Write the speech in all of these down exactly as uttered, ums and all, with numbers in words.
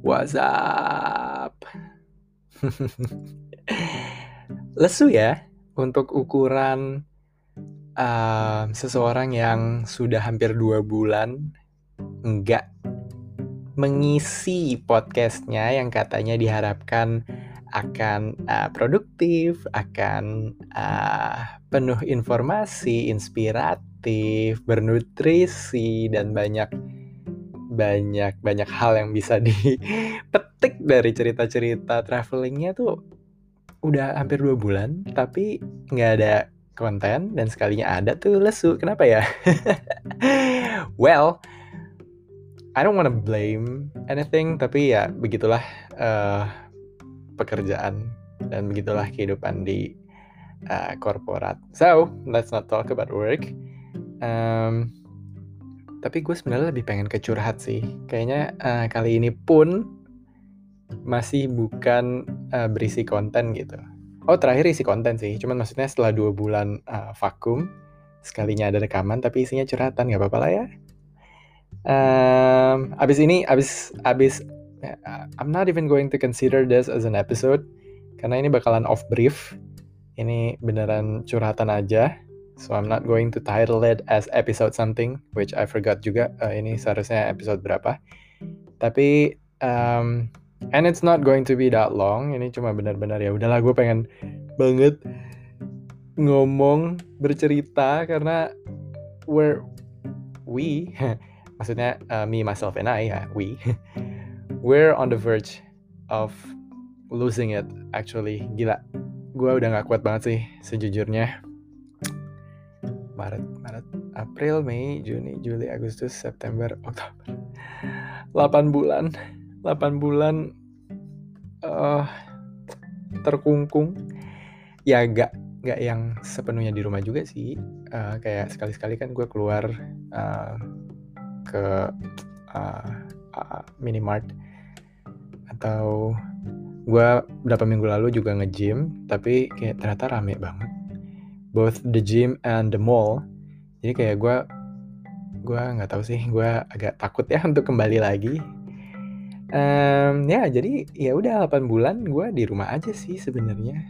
What's up? Lesu ya untuk ukuran uh, seseorang yang sudah hampir dua bulan enggak mengisi podcastnya yang katanya diharapkan akan uh, produktif, akan uh, penuh informasi, inspiratif, bernutrisi, dan banyak banyak banyak hal yang bisa dipetik dari cerita-cerita travelingnya tuh udah hampir dua bulan tapi nggak ada konten, dan sekalinya ada tuh lesu. Kenapa ya? Well, I don't wanna blame anything, tapi ya begitulah uh, pekerjaan dan begitulah kehidupan di uh, korporat. So let's not talk about work. Um, tapi gue sebenarnya lebih pengen ke curhat sih. Kayaknya uh, kali ini pun masih bukan uh, berisi konten gitu. Oh, terakhir isi konten sih. Cuman maksudnya setelah dua bulan uh, vakum, sekalinya ada rekaman tapi isinya curhatan, nggak apa-apa lah ya. Um, abis ini, abis abis, uh, I'm not even going to consider this as an episode karena ini bakalan off brief. Ini beneran curhatan aja. So I'm not going to title it as episode something, which I forgot juga. Uh, ini seharusnya episode berapa. Tapi um, and it's not going to be that long. Ini cuma benar-benar ya udahlah, gue pengen banget ngomong, bercerita karena we're we maksudnya uh, me, myself, and I ya, we we're on the verge of losing it actually. Gila, gue udah gak kuat banget sih sejujurnya. Maret, Maret, April, Mei, Juni, Juli, Agustus, September, Oktober. delapan bulan. delapan bulan uh, terkungkung. Ya gak, gak yang sepenuhnya di rumah juga sih. Uh, kayak sekali-sekali kan gue keluar uh, ke uh, uh, minimart. Atau gue beberapa minggu lalu juga nge-gym. Tapi kayak ternyata rame banget. Both the gym and the mall. Jadi kayak gue gue nggak tahu sih, gue agak takut ya untuk kembali lagi. Um, ya jadi ya udah delapan bulan gue di rumah aja sih sebenarnya.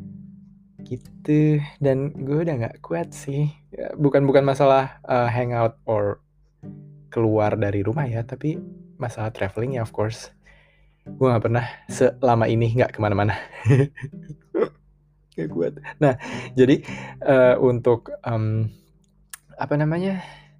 Gitu, dan gue udah nggak kuat sih. Bukan bukan masalah uh, hangout or keluar dari rumah ya, tapi masalah traveling ya, of course. Gue nggak pernah selama ini nggak kemana-mana. Gak kuat. Nah, jadi uh, untuk um, apa namanya?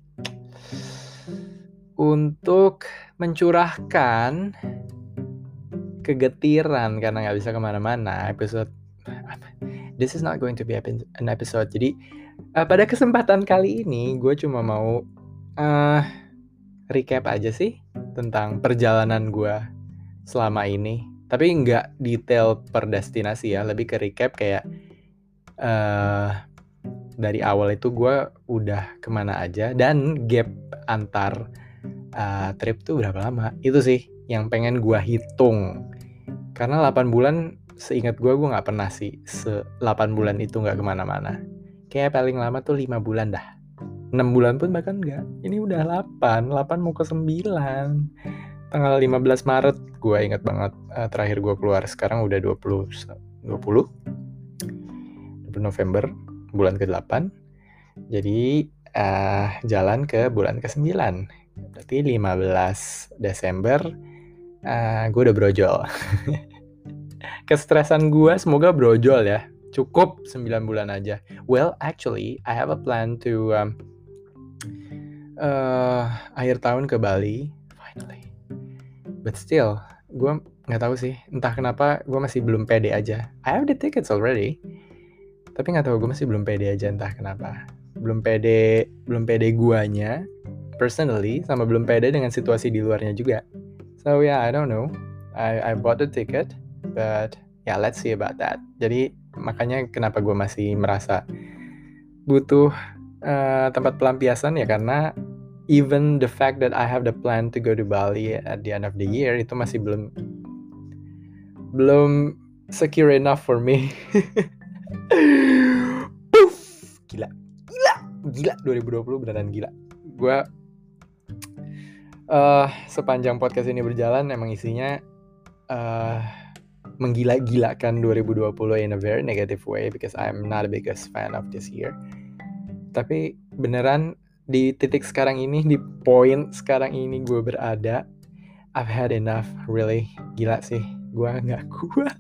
Untuk mencurahkan kegetiran karena nggak bisa kemana-mana, episode this is not going to be an episode. Jadi uh, pada kesempatan kali ini gue cuma mau uh, recap aja sih tentang perjalanan gue selama ini. Tapi nggak detail per destinasi ya, lebih ke recap kayak uh, dari awal itu gue udah kemana aja dan gap antar uh, trip tuh berapa lama. Itu sih yang pengen gue hitung. Karena delapan bulan seingat gue, gue gak pernah sih se delapan bulan itu gak kemana-mana. Kayak paling lama tuh lima bulan dah. enam bulan pun bahkan gak. Ini udah delapan, delapan mau ke sembilan. Tanggal lima belas Maret gue ingat banget uh, terakhir gue keluar. Sekarang udah dua puluh dua puluh November, bulan ke delapan. Jadi uh, jalan ke bulan ke sembilan. Berarti lima belas Desember uh, gue udah brojol. Kestresan gue semoga brojol ya. Cukup sembilan bulan aja. Well, actually, I have a plan to um, uh, akhir tahun ke Bali. Finally. But still, gue gak tahu sih. Entah kenapa gue masih belum pede aja. I have the tickets already. Tapi gak tahu, gue masih belum pede aja, entah kenapa. Belum pede, belum pede guanya, personally, sama belum pede dengan situasi di luarnya juga. So yeah, I don't know. I, I bought the ticket, but yeah, let's see about that. Jadi makanya kenapa gue masih merasa butuh uh, tempat pelampiasan ya, karena even the fact that I have the plan to go to Bali at the end of the year itu masih belum belum secure enough for me. Puff, gila, gila, gila. dua ribu dua puluh beneran gila. Gue uh, sepanjang podcast ini berjalan emang isinya uh, menggila-gilakan dua ribu dua puluh in a very negative way because I'm not a biggest fan of this year. Tapi beneran di titik sekarang ini, di poin sekarang ini gue berada, I've had enough, really. Gila sih, gue gak kuat.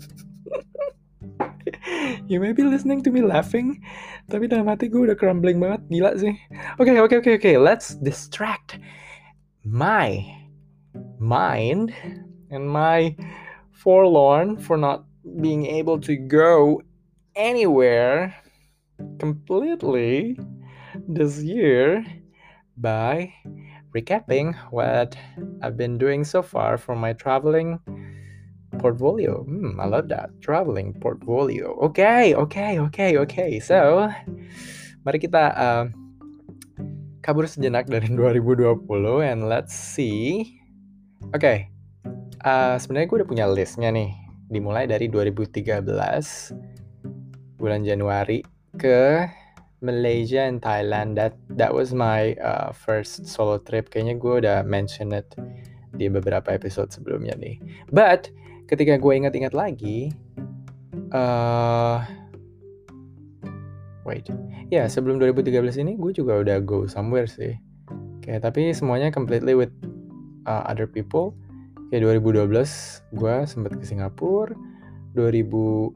You may be listening to me laughing, tapi dalam hati gue udah crumbling banget, gila sih. Oke, okay, oke, okay, oke, okay, oke, okay. Let's distract my mind and my forlorn for not being able to go anywhere completely this year by recapping what I've been doing so far for my traveling portfolio. Hmm, I love that. Traveling portfolio. Okay, okay, okay, okay. So, mari kita uh, kabur sejenak dari dua ribu dua puluh and let's see. Oke, okay. uh, sebenarnya gue udah punya listnya nih. Dimulai dari dua ribu tiga belas bulan Januari ke Malaysia and Thailand. That that was my uh, first solo trip. Kayaknya gue udah mention it di beberapa episode sebelumnya nih. But ketika gue ingat-ingat lagi, uh, wait, ya yeah, sebelum dua ribu tiga belas ini gue juga udah go somewhere sih. Kayak tapi semuanya completely with uh, other people. Kayak dua ribu dua belas gue sempat ke Singapura, dua ribu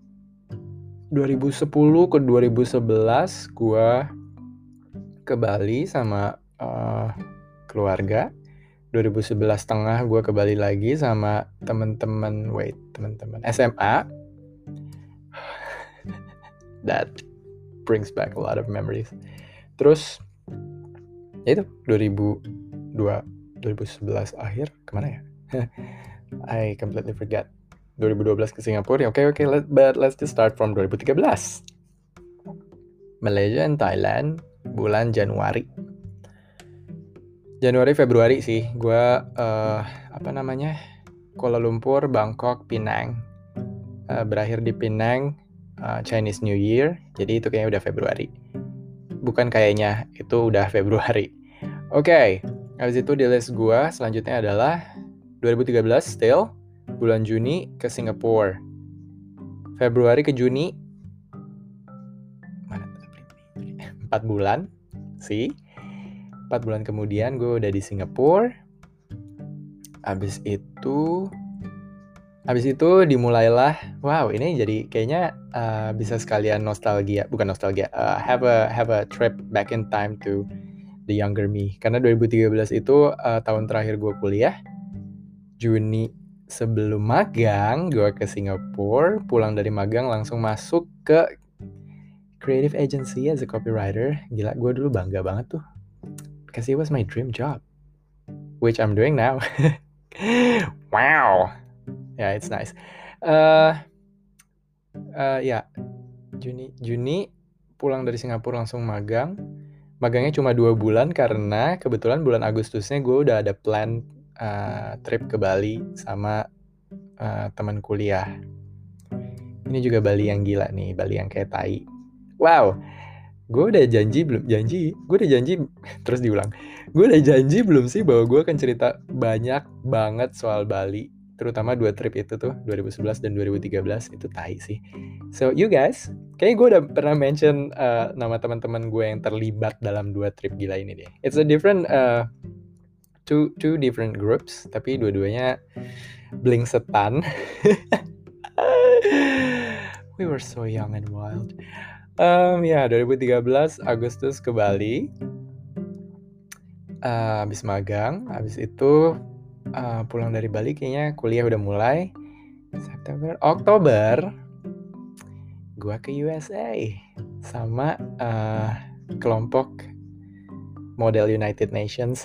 sepuluh ke dua ribu sebelas gue ke Bali sama uh, keluarga. dua ribu sebelas tengah gue ke Bali lagi sama teman-teman, wait, teman-teman S M A. That brings back a lot of memories. Terus ya itu dua ribu sebelas akhir kemana ya? I completely forget. dua ribu dua belas ke Singapura. Oke, okay, oke, okay, let, but let's just start from dua ribu tiga belas. Malaysia and Thailand bulan Januari. Januari Februari sih, gue uh, apa namanya Kuala Lumpur, Bangkok, Penang, uh, berakhir di Penang, uh, Chinese New Year, jadi itu kayaknya udah Februari. Bukan kayaknya, itu udah Februari. Oke, okay. Habis itu di list gue selanjutnya adalah dua ribu tiga belas still, bulan Juni ke Singapura. Februari ke Juni, mana empat bulan sih. empat bulan kemudian gue udah di Singapura. Habis itu Habis itu dimulailah, wow ini jadi kayaknya uh, bisa sekalian nostalgia, bukan nostalgia, uh, have a have a trip back in time to the younger me. Karena dua ribu tiga belas itu uh, tahun terakhir gue kuliah. Juni sebelum magang, gue ke Singapura, pulang dari magang langsung masuk ke creative agency as a copywriter. Gila, gue dulu bangga banget tuh. Because it was my dream job, which I'm doing now. Wow. Yeah, it's nice. Uh, uh, ya, yeah. Juni, Juni pulang dari Singapura langsung magang. Magangnya cuma dua bulan karena kebetulan bulan Agustusnya gue udah ada plan uh, trip ke Bali sama uh, teman kuliah. Ini juga Bali yang gila nih, Bali yang kayak tai. Wow, gue udah janji belum janji, gue udah janji terus diulang. Gue udah janji belum sih bahwa gue akan cerita banyak banget soal Bali. Terutama dua trip itu tuh, dua ribu sebelas dan dua ribu tiga belas, itu tai sih. So, you guys, kayaknya gue udah pernah mention uh, nama teman-teman gue yang terlibat dalam dua trip gila ini deh. It's a different, uh, two, two different groups, tapi dua-duanya bling setan. We were so young and wild. Um, ya, dua ribu tiga belas Agustus ke Bali. Uh, habis magang, habis itu... Uh, pulang dari Bali kayaknya kuliah udah mulai. September, Oktober gue ke U S A sama uh, kelompok model United Nations.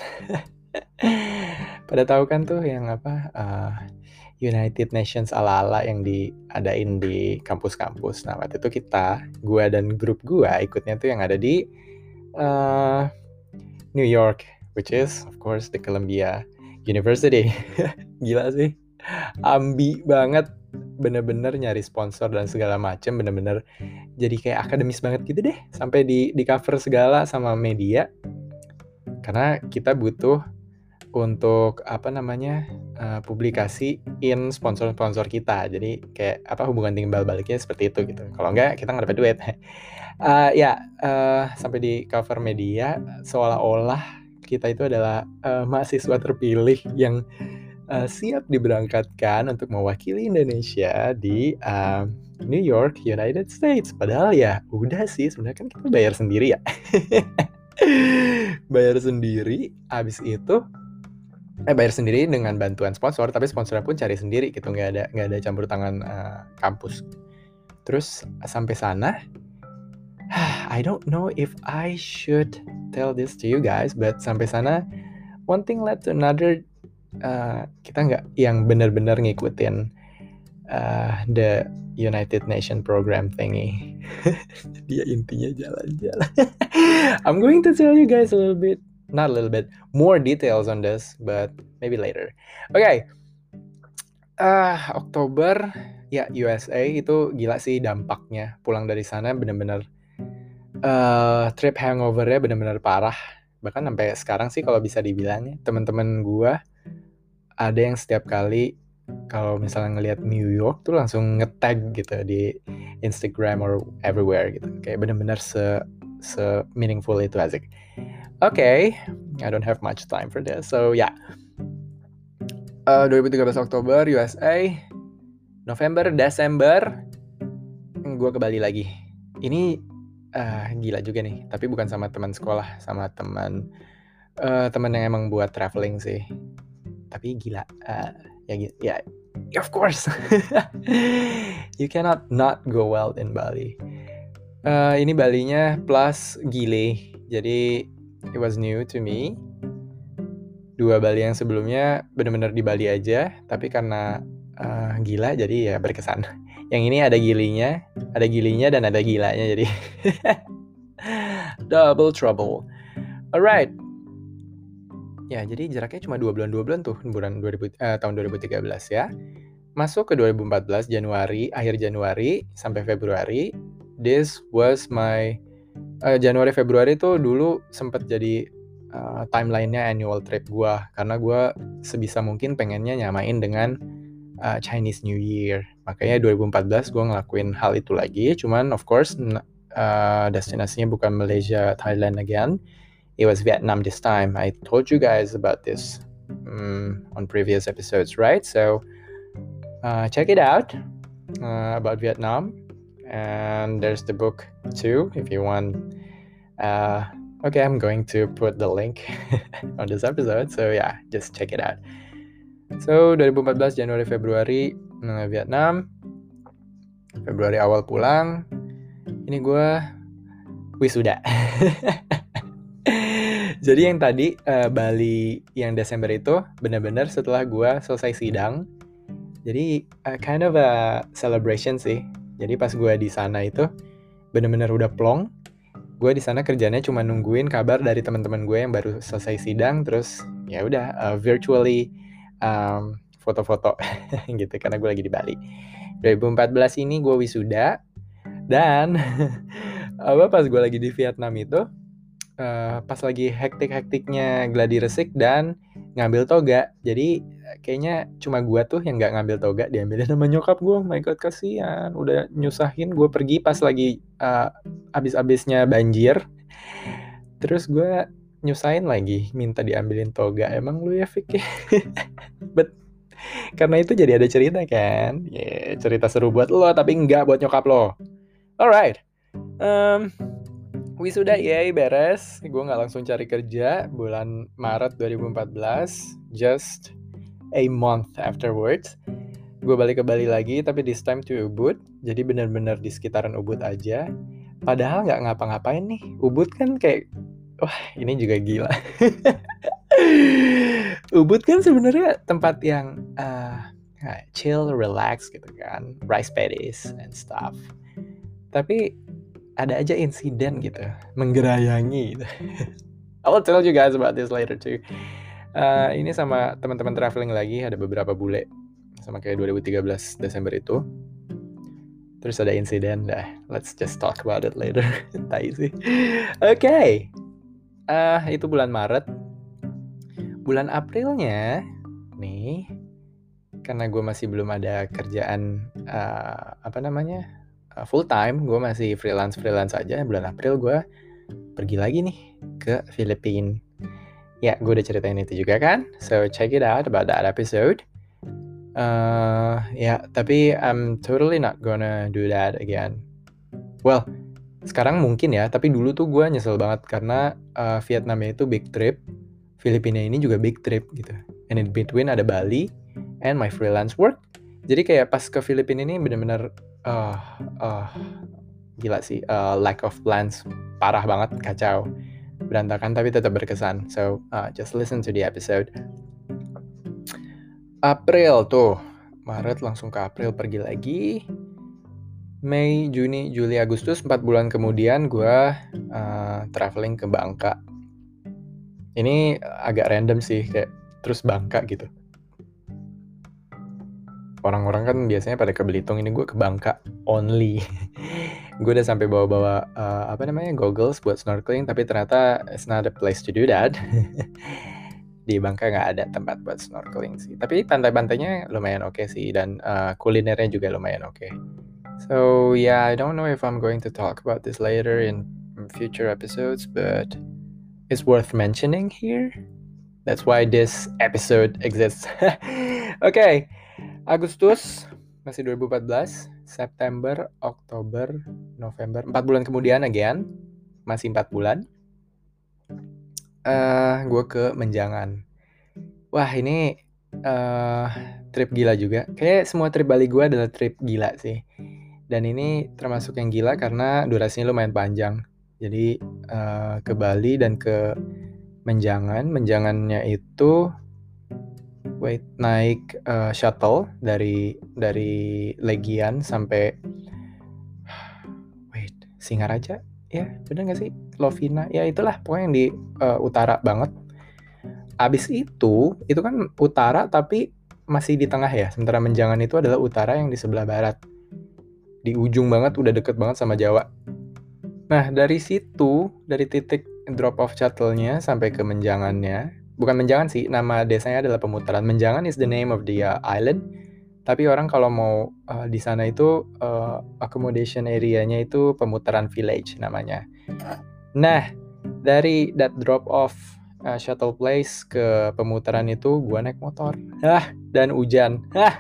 Pada tahu kan tuh yang apa uh, United Nations ala-ala yang diadain di kampus-kampus. Nah waktu itu kita, gue dan grup gue ikutnya tuh yang ada di uh, New York, which is of course the Columbia University. Gila sih, ambi banget, bener-bener nyari sponsor dan segala macem, bener-bener jadi kayak akademis banget gitu deh, sampai di di cover segala sama media, karena kita butuh untuk apa namanya uh, publikasiin sponsor-sponsor kita. Jadi kayak apa hubungan timbal baliknya seperti itu gitu. Kalau enggak kita nggak dapat duit. uh, ya uh, sampai di cover media seolah-olah kita itu adalah uh, mahasiswa terpilih yang uh, siap diberangkatkan untuk mewakili Indonesia di uh, New York, United States. Padahal ya udah sih sebenarnya kan kita bayar sendiri ya. Bayar sendiri, abis itu eh bayar sendiri dengan bantuan sponsor, tapi sponsornya pun cari sendiri gitu, nggak ada nggak ada campur tangan uh, kampus. Terus sampai sana, I don't know if I should tell this to you guys, but sampai sana one thing led to another. Uh, kita nggak yang benar-benar ngikutin uh, the United Nation program thingy. Dia intinya jalan-jalan. I'm going to tell you guys a little bit, not a little bit, more details on this, but maybe later. Oke, okay. uh, Oktober, ya U S A itu gila sih dampaknya. Pulang dari sana benar-benar uh, trip hangover-nya benar-benar parah. Bahkan sampai sekarang sih kalau bisa dibilang, teman-teman gue ada yang setiap kali kalau misalnya ngelihat New York tuh langsung nge-tag gitu di Instagram or everywhere gitu. Kayak benar-benar se se meaningful itu asik. Oke, okay, I don't have much time for this. So ya, yeah. uh, dua ribu tiga belas Oktober U S A, November, Desember, gue ke Bali lagi. Ini uh, gila juga nih, tapi bukan sama teman sekolah, sama teman uh, teman yang emang buat traveling sih. Tapi gila, uh, ya ya, yeah, of course, you cannot not go wild in Bali. Uh, ini Balinya plus Gile, jadi it was new to me. Dua Bali yang sebelumnya benar-benar di Bali aja, tapi karena uh, gila jadi ya berkesan. Yang ini ada gilinya, ada gilinya dan ada gilanya, jadi double trouble. Alright. Ya, jadi jaraknya cuma dua bulan dua bulan tuh, bulan dua ribu, eh, tahun dua ribu tiga belas ya. Masuk ke dua ribu empat belas Januari, akhir Januari sampai Februari. This was my uh, Januari Februari tuh dulu sempat jadi uh, timeline-nya annual trip gue, karena gue sebisa mungkin pengennya nyamain dengan uh, Chinese New Year. Makanya dua ribu empat belas gue ngelakuin hal itu lagi. Cuman of course uh, destinasinya bukan Malaysia, Thailand again. It was Vietnam this time. I told you guys about this um, on previous episodes, right? So uh, check it out uh, about Vietnam. And there's the book too, if you want. Uh, okay, I'm going to put the link on this episode. So yeah, just check it out. So dua ribu empat belas Januari Februari uh, Vietnam. Februari awal pulang. Ini gue wisuda. Jadi yang tadi uh, Bali yang Desember itu benar-benar setelah gue selesai sidang. Jadi uh, kind of a celebration sih. Jadi pas gue di sana itu benar-benar udah plong. Gue di sana kerjanya cuma nungguin kabar dari teman-teman gue yang baru selesai sidang, terus ya udah uh, virtually um, foto-foto gitu karena gue lagi di Bali. dua ribu empat belas ini gue wisuda dan apa pas gue lagi di Vietnam itu uh, pas lagi hektik-hektiknya gladi resik dan ngambil toga. Jadi kayaknya cuma gue tuh yang nggak ngambil toga, diambilin sama nyokap gue. Oh my god, kasihan, udah nyusahin gue pergi pas lagi uh, abis-abisnya banjir. Terus gue nyusahin lagi minta diambilin toga. Emang lu ya Fik? But karena itu jadi ada cerita kan, yeah, cerita seru buat lo tapi enggak buat nyokap lo. Alright, um, wisuda yay beres. Gue nggak langsung cari kerja bulan Maret dua ribu empat belas, just a month afterwards. Gue balik ke Bali lagi, tapi this time to Ubud. Jadi benar-benar di sekitaran Ubud aja. Padahal nggak ngapa-ngapain nih. Ubud kan kayak, wah ini juga gila. Ubud kan sebenarnya tempat yang uh, chill, relax gitu kan, rice paddies and stuff. Tapi ada aja insiden gitu, menggerayangi gitu. I will tell you guys about this later too. Uh, ini sama teman-teman traveling lagi, ada beberapa bule, sama kayak dua ribu tiga belas Desember itu. Terus ada insiden, dah. Let's just talk about it later. Tai sih. Oke, okay. uh, itu bulan Maret. Bulan Aprilnya, nih, karena gue masih belum ada kerjaan uh, apa namanya uh, full time, gue masih freelance freelance aja. Bulan April gue pergi lagi nih ke Filipina. Ya, gue udah ceritain itu juga kan. So check it out about that episode. Uh, ya, tapi I'm totally not gonna do that again. Well, sekarang mungkin ya, tapi dulu tuh gue nyesel banget karena uh, Vietnamnya itu big trip, Filipina ini juga big trip gitu. And in between ada Bali and my freelance work. Jadi kayak pas ke Filipina ini bener-bener uh, uh, gila sih, uh, lack of plans, parah banget, kacau, berantakan tapi tetap berkesan. So uh, just listen to the episode. April tuh, Maret langsung ke April pergi lagi. Mei, Juni, Juli, Agustus, empat bulan kemudian gue uh, traveling ke Bangka. Ini agak random sih, kayak terus Bangka gitu. Orang-orang kan biasanya pada ke Belitung, ini gue ke Bangka only. Gue udah sampai bawa-bawa uh, apa namanya goggles buat snorkeling, tapi ternyata it's not a place to do that. Di Bangka nggak ada tempat buat snorkeling sih. Tapi pantai-pantainya lumayan oke okay sih, dan uh, kulinernya juga lumayan oke. Okay. So yeah, I don't know if I'm going to talk about this later in future episodes, but it's worth mentioning here. That's why this episode exists. Oke, okay. Agustus masih dua ribu empat belas, September, Oktober, November, empat bulan kemudian again, masih empat bulan. Uh, gue ke Menjangan. Wah, ini uh, trip gila juga. Kayak semua trip Bali gue adalah trip gila sih. Dan ini termasuk yang gila karena durasinya lumayan panjang. Jadi uh, ke Bali dan ke Menjangan. Menjangannya itu wait naik uh, shuttle dari dari Legian sampai wait Singaraja. Ya, bener nggak sih? Lovina. Ya itulah pokoknya yang di uh, utara banget. Abis itu, itu kan utara tapi masih di tengah ya. Sementara Menjangan itu adalah utara yang di sebelah barat. Di ujung banget, udah deket banget sama Jawa. Nah, dari situ, dari titik drop off shuttle-nya sampai ke Menjangannya, bukan Menjangan sih, nama desanya adalah Pemutaran. Menjangan is the name of the uh, island, tapi orang kalau mau uh, di sana itu uh, accommodation area-nya itu Pemutaran Village namanya. Nah, dari that drop off uh, shuttle place ke Pemutaran itu, gua naik motor. Hah, dan hujan. Hah.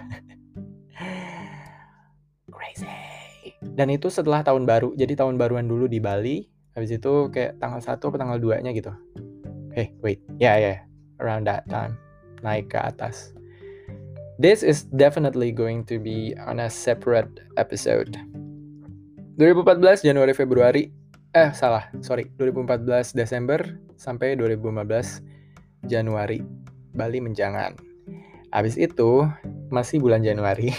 Crazy. Dan itu setelah tahun baru, jadi tahun baruan dulu di Bali, habis itu kayak tanggal satu atau tanggal dua-nya gitu. Hey, wait, ya yeah, ya, yeah. Around that time, naik ke atas. This is definitely going to be on a separate episode. dua ribu empat belas Januari Februari, eh salah, sorry, dua ribu empat belas Desember sampai dua ribu lima belas Januari, Bali Menjangan. Habis itu masih bulan Januari.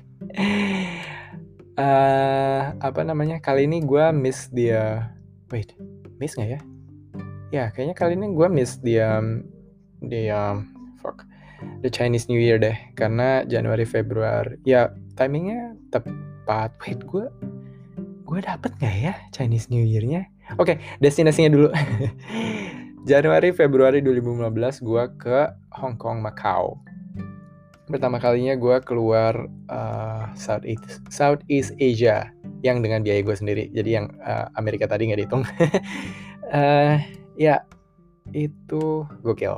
Uh, apa namanya kali ini gue miss dia wait miss nggak ya ya kayaknya kali ini gue miss dia dia fuck the Chinese New Year deh, karena Januari Februari ya timingnya tepat. Wait gue gue dapet nggak ya Chinese New Year-nya? Oke, okay, destinasinya dulu. Januari Februari dua ribu lima belas gue ke Hong Kong, Macau. Pertama kalinya gue keluar uh, Southeast, Southeast Asia yang dengan biaya gue sendiri. Jadi yang uh, Amerika tadi nggak dihitung. uh, ya, itu gokil.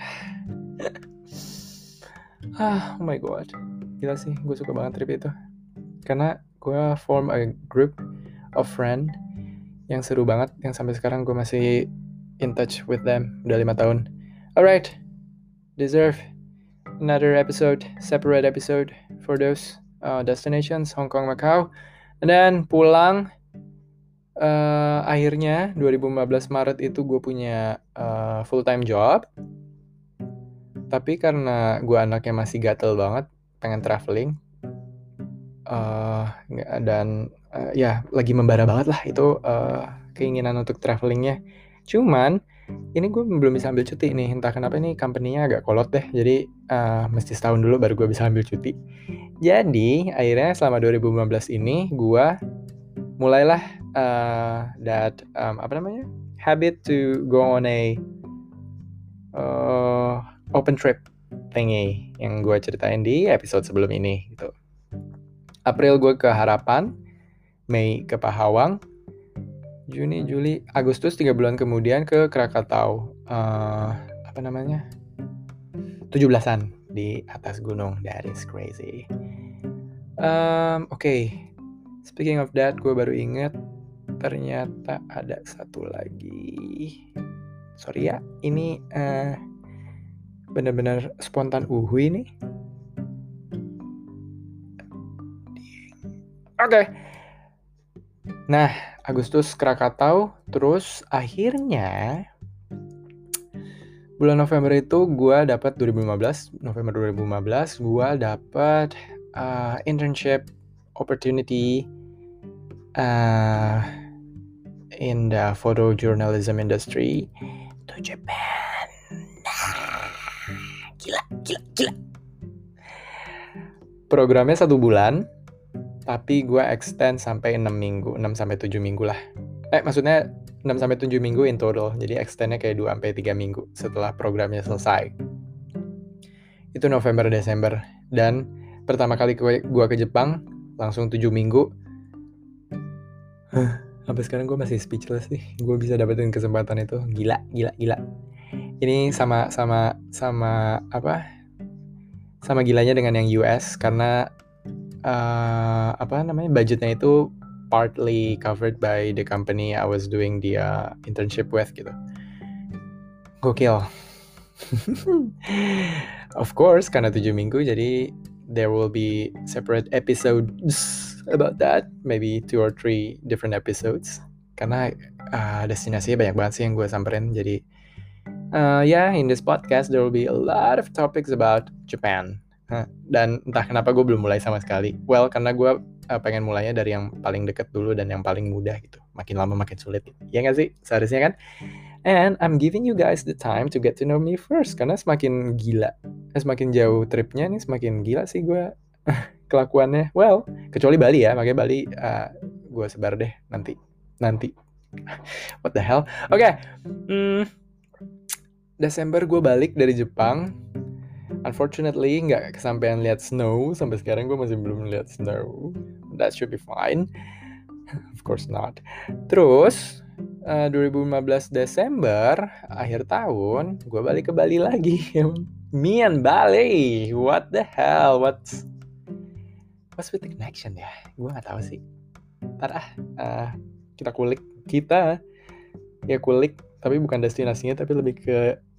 ah, oh my god. Gila sih, gue suka banget trip itu. Karena gue form a group of friend yang seru banget. Yang sampai sekarang gue masih in touch with them. Udah lima tahun. Alright, deserve another episode, separate episode for those uh, destinations, Hong Kong, Macau. And then pulang, uh, akhirnya dua ribu lima belas Maret itu gue punya uh, full-time job. Tapi karena gue anaknya masih gatel banget, pengen traveling. Uh, dan uh, ya lagi membara banget lah itu uh, keinginan untuk travelingnya. Cuman ini gue belum bisa ambil cuti nih, entah kenapa ini company-nya agak kolot deh, jadi uh, mesti setahun dulu baru gue bisa ambil cuti. Jadi akhirnya selama dua ribu lima belas ini gue mulailah uh, that um, apa namanya habit to go on a uh, open trip. thingy yang gue ceritain di episode sebelum ini gitu. April gue ke Harapan, Mei ke Pahawang, Juni, Juli, Agustus tiga bulan kemudian ke Krakatau. Uh, apa namanya? tujuh belasan di atas gunung. That is crazy. Um, Oke, okay. Speaking of that, gue baru inget ternyata ada satu lagi. Sorry ya, ini uh, benar-benar spontan uhui nih. Oke. Okay. Nah, Agustus Krakatau, terus akhirnya bulan November itu gue dapat dua ribu lima belas, November dua ribu lima belas gue dapat uh, internship opportunity uh, in the photojournalism industry to Japan. Gila, gila, gila. Programnya satu bulan, tapi gue extend sampai enam minggu, enam sampai tujuh minggu lah. Eh, maksudnya enam sampai tujuh minggu in total. Jadi extendnya kayak dua sampai tiga minggu setelah programnya selesai. Itu November Desember. Dan pertama kali gue ke Jepang langsung tujuh minggu. Sampai sekarang gue masih speechless nih. Gue bisa dapetin kesempatan itu. Gila, gila, gila. Ini sama sama sama apa? Sama gilanya dengan yang U S karena uh, apa namanya? budgetnya itu partly covered by the company I was doing the uh, internship with gitu. Gokil. Of course, karena tujuh minggu, jadi there will be separate episodes about that. Maybe two or three different episodes. Karena uh, destinasinya banyak banget sih yang gue samperin. Jadi, uh, yeah, in this podcast, there will be a lot of topics about Japan. Huh. Dan entah kenapa gue belum mulai sama sekali. Well, karena gue uh, pengen mulainya dari yang paling deket dulu dan yang paling mudah gitu. Makin lama makin sulit. Ya nggak sih? Seharusnya kan? And I'm giving you guys the time to get to know me first. Karena semakin gila, semakin jauh tripnya nih, semakin gila sih gue kelakuannya. Well, kecuali Bali ya. Makanya Bali uh, gue sebar deh nanti. Nanti. What the hell? Oke. Okay. Hmm, Desember gue balik dari Jepang. Unfortunately, nggak kesampean lihat snow. Sampai sekarang gue masih belum lihat snow. That should be fine. Of course not. Terus, uh, dua ribu lima belas Desember, akhir tahun, gue balik ke Bali lagi. Me and Bali. What the hell? What's, what's with the connection ya? Gue nggak tahu sih. Ntar ah, uh, kita kulik. Kita, ya kulik. Tapi bukan destinasinya, tapi lebih ke...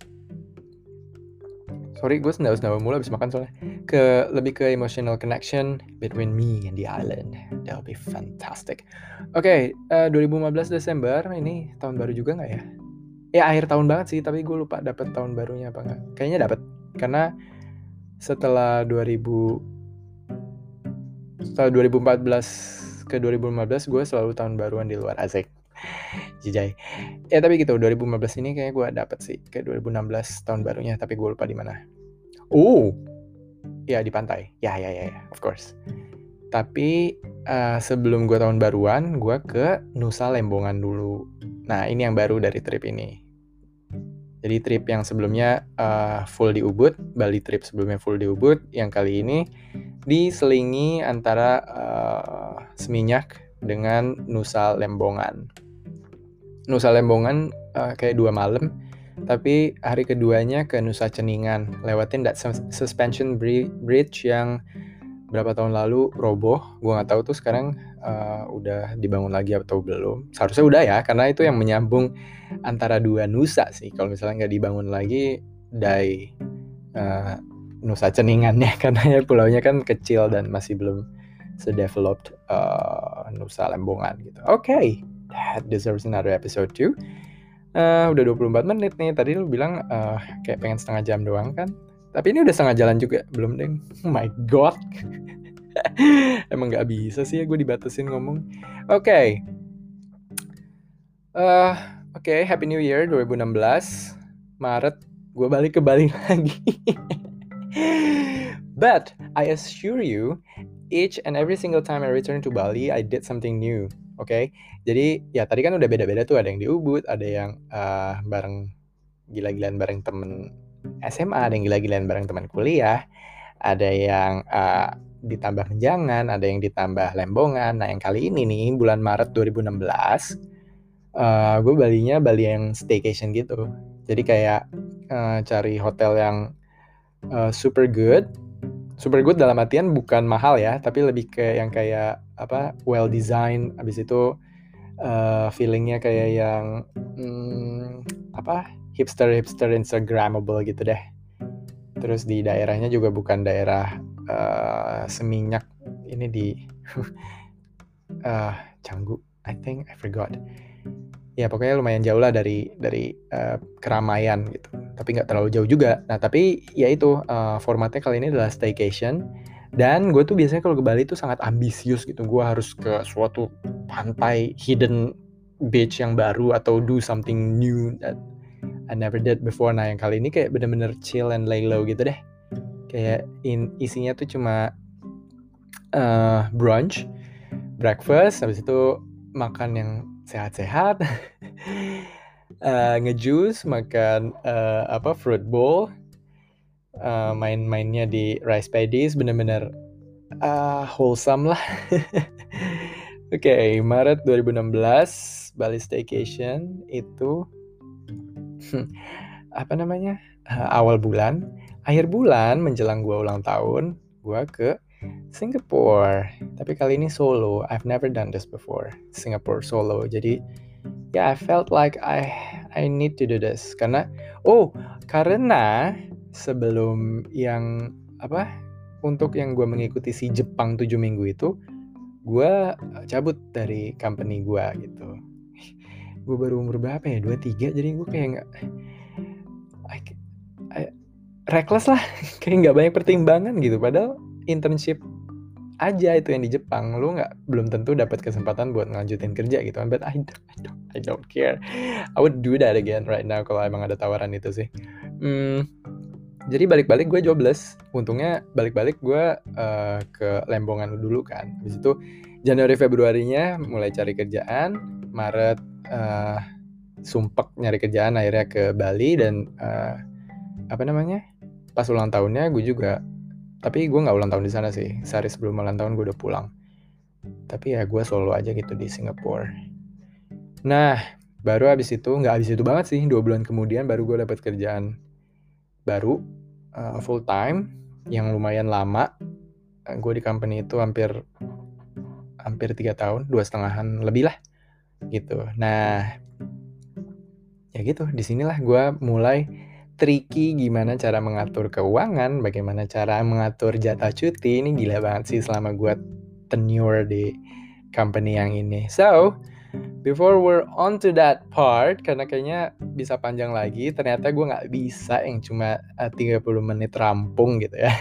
Sorry, gue sendawa-sendawa mulu abis makan soalnya. Ke, lebih ke emotional connection between me and the island. That'll be fantastic. Oke, okay, uh, dua ribu lima belas Desember, ini tahun baru juga nggak ya? Ya akhir tahun banget sih, tapi gue lupa dapet tahun barunya apa nggak. Kayaknya dapet, karena setelah dua ribu... Setelah dua ribu empat belas ke dua ribu lima belas, gue selalu tahun baruan di luar. Asik. Jijai. Ya tapi gitu, dua ribu lima belas ini kayaknya gue dapet sih ke dua ribu enam belas tahun barunya, tapi gue lupa di mana. Oh, ya di pantai. Ya ya ya, ya. Of course. Tapi uh, sebelum gue tahun baruan, gue ke Nusa Lembongan dulu. Nah ini yang baru dari trip ini. Jadi trip yang sebelumnya uh, full di Ubud, Bali trip sebelumnya full di Ubud, yang kali ini diselingi antara uh, Seminyak dengan Nusa Lembongan. Nusa Lembongan uh, kayak dua malam, tapi hari keduanya ke Nusa Ceningan, lewatin that suspension bridge yang berapa tahun lalu roboh. Gue nggak tahu tuh sekarang uh, udah dibangun lagi atau belum. Seharusnya udah ya, karena itu yang menyambung antara dua Nusa sih. Kalau misalnya nggak dibangun lagi, dari uh, Nusa Ceningannya, karena ya pulaunya kan kecil dan masih belum sedeveloped uh, Nusa Lembongan gitu. Oke, okay. That deserves another episode too. Uh, udah dua puluh empat menit nih. Tadi lu bilang uh, kayak pengen setengah jam doang kan? Tapi ini udah setengah jalan juga. Belum deng. Oh my god. Emang gak bisa sih ya gue dibatasin ngomong. Oke. Okay. Uh, Oke, okay. Happy New Year dua ribu enam belas. Maret gue balik ke Bali lagi. But I assure you, each and every single time I return to Bali, I did something new. Oke, okay? Jadi ya tadi kan udah beda-beda tuh. Ada yang di Ubud, ada yang uh, bareng gila-gilaan bareng temen S M A, ada yang gila-gilaan bareng teman kuliah, ada yang uh, ditambah menjangan, ada yang ditambah lembongan. Nah yang kali ini nih bulan Maret dua ribu enam belas, uh, gue Balinya Bali yang staycation gitu. Jadi kayak uh, cari hotel yang uh, super good. Super good dalam artian bukan mahal ya, tapi lebih ke yang kayak apa, well design. Abis itu uh, feelingnya kayak yang hmm, apa, hipster hipster instagramable gitu deh. Terus di daerahnya juga bukan daerah uh, Seminyak, ini di uh, Canggu, I think, I forgot. Ya pokoknya lumayan jauh lah dari dari uh, keramaian gitu, tapi nggak terlalu jauh juga. Nah tapi ya itu uh, formatnya kali ini adalah staycation. Dan gue tuh biasanya kalau ke Bali tuh sangat ambisius gitu. Gue harus ke suatu pantai hidden beach yang baru atau do something new that I never did before. Nah yang kali ini kayak bener-bener chill and lay low gitu deh. Kayak in, isinya tuh cuma uh, brunch, breakfast, habis itu makan yang sehat-sehat, uh, nge-juice, makan uh, apa fruit bowl, uh, main-mainnya di rice paddies, bener-bener uh, wholesome lah. Oke, okay, Maret dua ribu enam belas Bali Staycation itu apa namanya, uh, awal bulan, akhir bulan menjelang gue ulang tahun, gue ke Singapore. Tapi kali ini solo. I've never done this before. Singapore solo. Jadi ya yeah, I felt like I I need to do this karena oh karena sebelum yang apa, untuk yang gue mengikuti si Jepang tujuh minggu itu, gue cabut dari company gue gitu. Gue baru umur berapa ya, dua puluh tiga, jadi gue kayak nggak reckless lah. Kayak nggak banyak pertimbangan gitu, padahal internship aja itu yang di Jepang, lu nggak belum tentu dapat kesempatan buat ngelanjutin kerja gitu kan. But I don't, I don't, I don't care. I would do that again right now kalau emang ada tawaran itu sih. Hmm, jadi balik-balik gue jobless. Untungnya balik-balik gue uh, ke Lembongan dulu kan. Habis itu Januari Februarinya mulai cari kerjaan. Maret uh, sumpek nyari kerjaan, akhirnya ke Bali. Dan uh, apa namanya, pas ulang tahunnya gue juga, tapi gue nggak ulang tahun di sana sih. Sehari sebelum ulang tahun gue udah pulang. Tapi ya gue solo aja gitu di Singapura. Nah, baru abis itu, nggak abis itu banget sih, dua bulan kemudian baru gue dapet kerjaan baru, uh, full time, yang lumayan lama. Uh, gue di company itu hampir hampir tiga tahun, dua setengahan lebih lah, gitu. Nah, ya gitu. Disinilah gue mulai tricky gimana cara mengatur keuangan, bagaimana cara mengatur jatah cuti. Ini gila banget sih selama gue tenure di company yang ini. So, before we're on to that part, karena kayaknya bisa panjang lagi, ternyata gue gak bisa yang cuma uh, tiga puluh menit rampung gitu ya.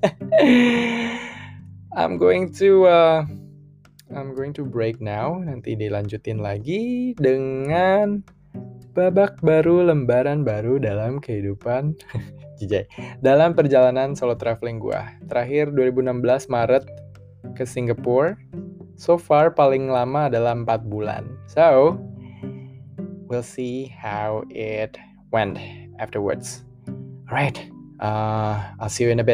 I'm going to uh, I'm going to break now. Nanti dilanjutin lagi dengan babak baru, lembaran baru dalam kehidupan Jijay, dalam perjalanan solo traveling gue. Terakhir dua ribu enam belas Maret ke Singapura. So far paling lama adalah empat bulan. So, we'll see how it went afterwards. Alright, uh, I'll see you in a bit.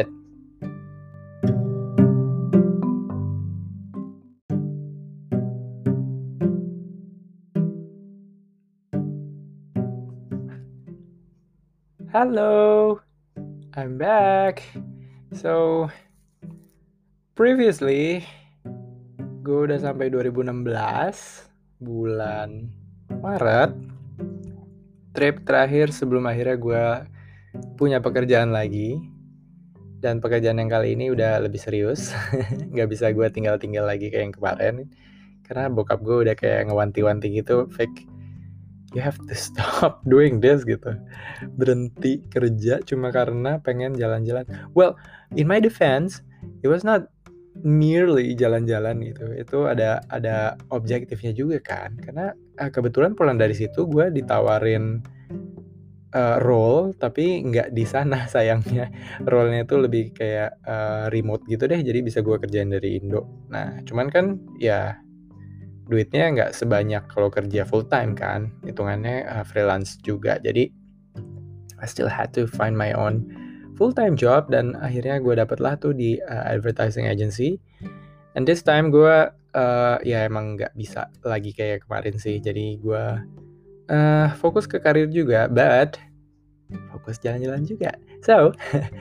Hello, I'm back. So, previously, gue udah sampai dua ribu enam belas, bulan Maret. Trip terakhir sebelum akhirnya gue punya pekerjaan lagi. Dan pekerjaan yang kali ini udah lebih serius. Gak bisa gue tinggal-tinggal lagi kayak yang kemarin. Karena bokap gue udah kayak ngewanti-wanti gitu, fake, you have to stop doing this gitu. Berhenti kerja cuma karena pengen jalan-jalan. Well, in my defense, it was not merely jalan-jalan gitu. Itu ada ada objektifnya juga kan. Karena uh, kebetulan pulang dari situ gue ditawarin uh, role, tapi nggak di sana sayangnya. Role-nya itu lebih kayak uh, remote gitu deh. Jadi bisa gue kerjain dari Indo. Nah, cuman kan ya duitnya nggak sebanyak kalau kerja full time kan, hitungannya uh, freelance juga. Jadi I still had to find my own full-time job, dan akhirnya gue dapet lah tuh di uh, advertising agency. And this time gue uh, ya emang nggak bisa lagi kayak kemarin sih. Jadi gue uh, fokus ke karir juga, but fokus jalan-jalan juga. So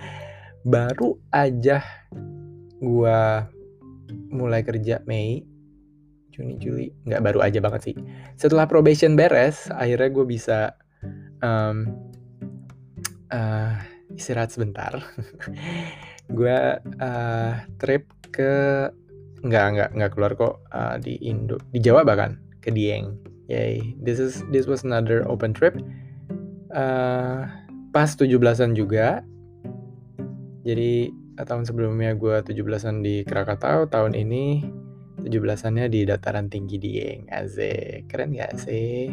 baru aja gue mulai kerja Mei, Juni, Juli, nggak baru aja banget sih. Setelah probation beres, akhirnya gue bisa um, uh, istirahat sebentar. Gue uh, trip ke nggak nggak nggak keluar kok, uh, di Indo, di Jawa bahkan, ke Dieng. Yay, this is this was another open trip. Uh, pas tujuh belasan juga. Jadi tahun sebelumnya gue tujuh belasan di Krakatau, tahun ini tujuh belasannya di dataran tinggi Dieng. Asik, keren gak sih?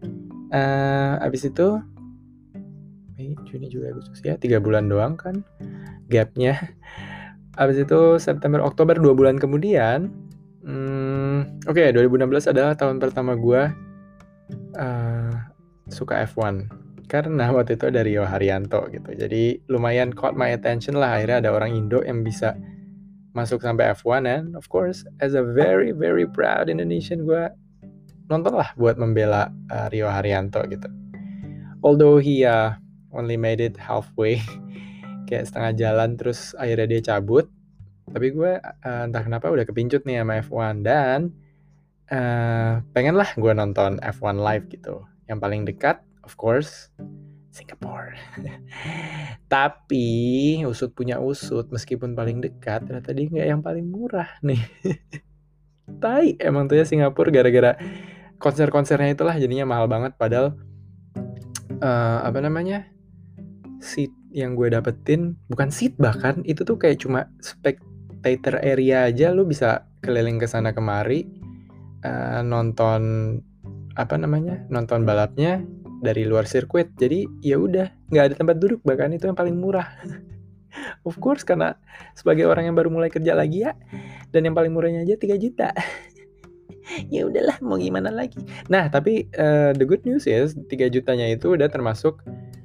Uh, abis itu Mei, Juni, Juli, Agustus, ya tiga bulan doang kan gapnya. Abis itu September, Oktober, dua bulan kemudian, hmm, oke, okay, dua ribu enam belas adalah tahun pertama gue uh, suka F one. Karena waktu itu ada Rio Haryanto gitu. Jadi lumayan caught my attention lah. Akhirnya ada orang Indo yang bisa masuk sampai F one. And of course, as a very, very proud Indonesian, gue nonton lah buat membela uh, Rio Haryanto gitu. Although he uh, only made it halfway, kayak setengah jalan, terus akhirnya dia cabut. Tapi gue uh, entah kenapa udah kepincut nih sama F one. Dan uh, pengen lah gue nonton F one live gitu. Yang paling dekat, of course, Singapore. Tapi usut punya usut, meskipun paling dekat, ternyata dia nggak yang paling murah nih. Tai emang tuh ya Singapura, gara-gara konser-konsernya itulah jadinya mahal banget. Padahal uh, apa namanya, seat yang gue dapetin, bukan seat bahkan, itu tuh kayak cuma spectator area aja. Lu bisa keliling ke sana kemari, uh, nonton apa namanya, nonton balapnya dari luar sirkuit. Jadi ya udah, nggak ada tempat duduk, bahkan itu yang paling murah. Of course, karena sebagai orang yang baru mulai kerja lagi ya, dan yang paling murahnya aja tiga juta. Ya udahlah, mau gimana lagi. Nah, tapi uh, the good news is tiga jutanya itu udah termasuk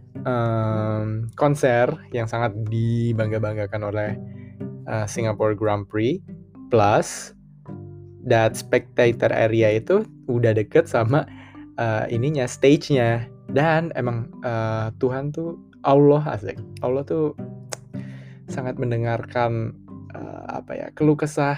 um, konser yang sangat dibangga-banggakan oleh uh, Singapore Grand Prix, plus that spectator area itu udah deket sama uh, ininya, stage-nya. Dan emang uh, Tuhan tuh, Allah, asik, Allah tuh sangat mendengarkan uh, apa ya, keluh kesah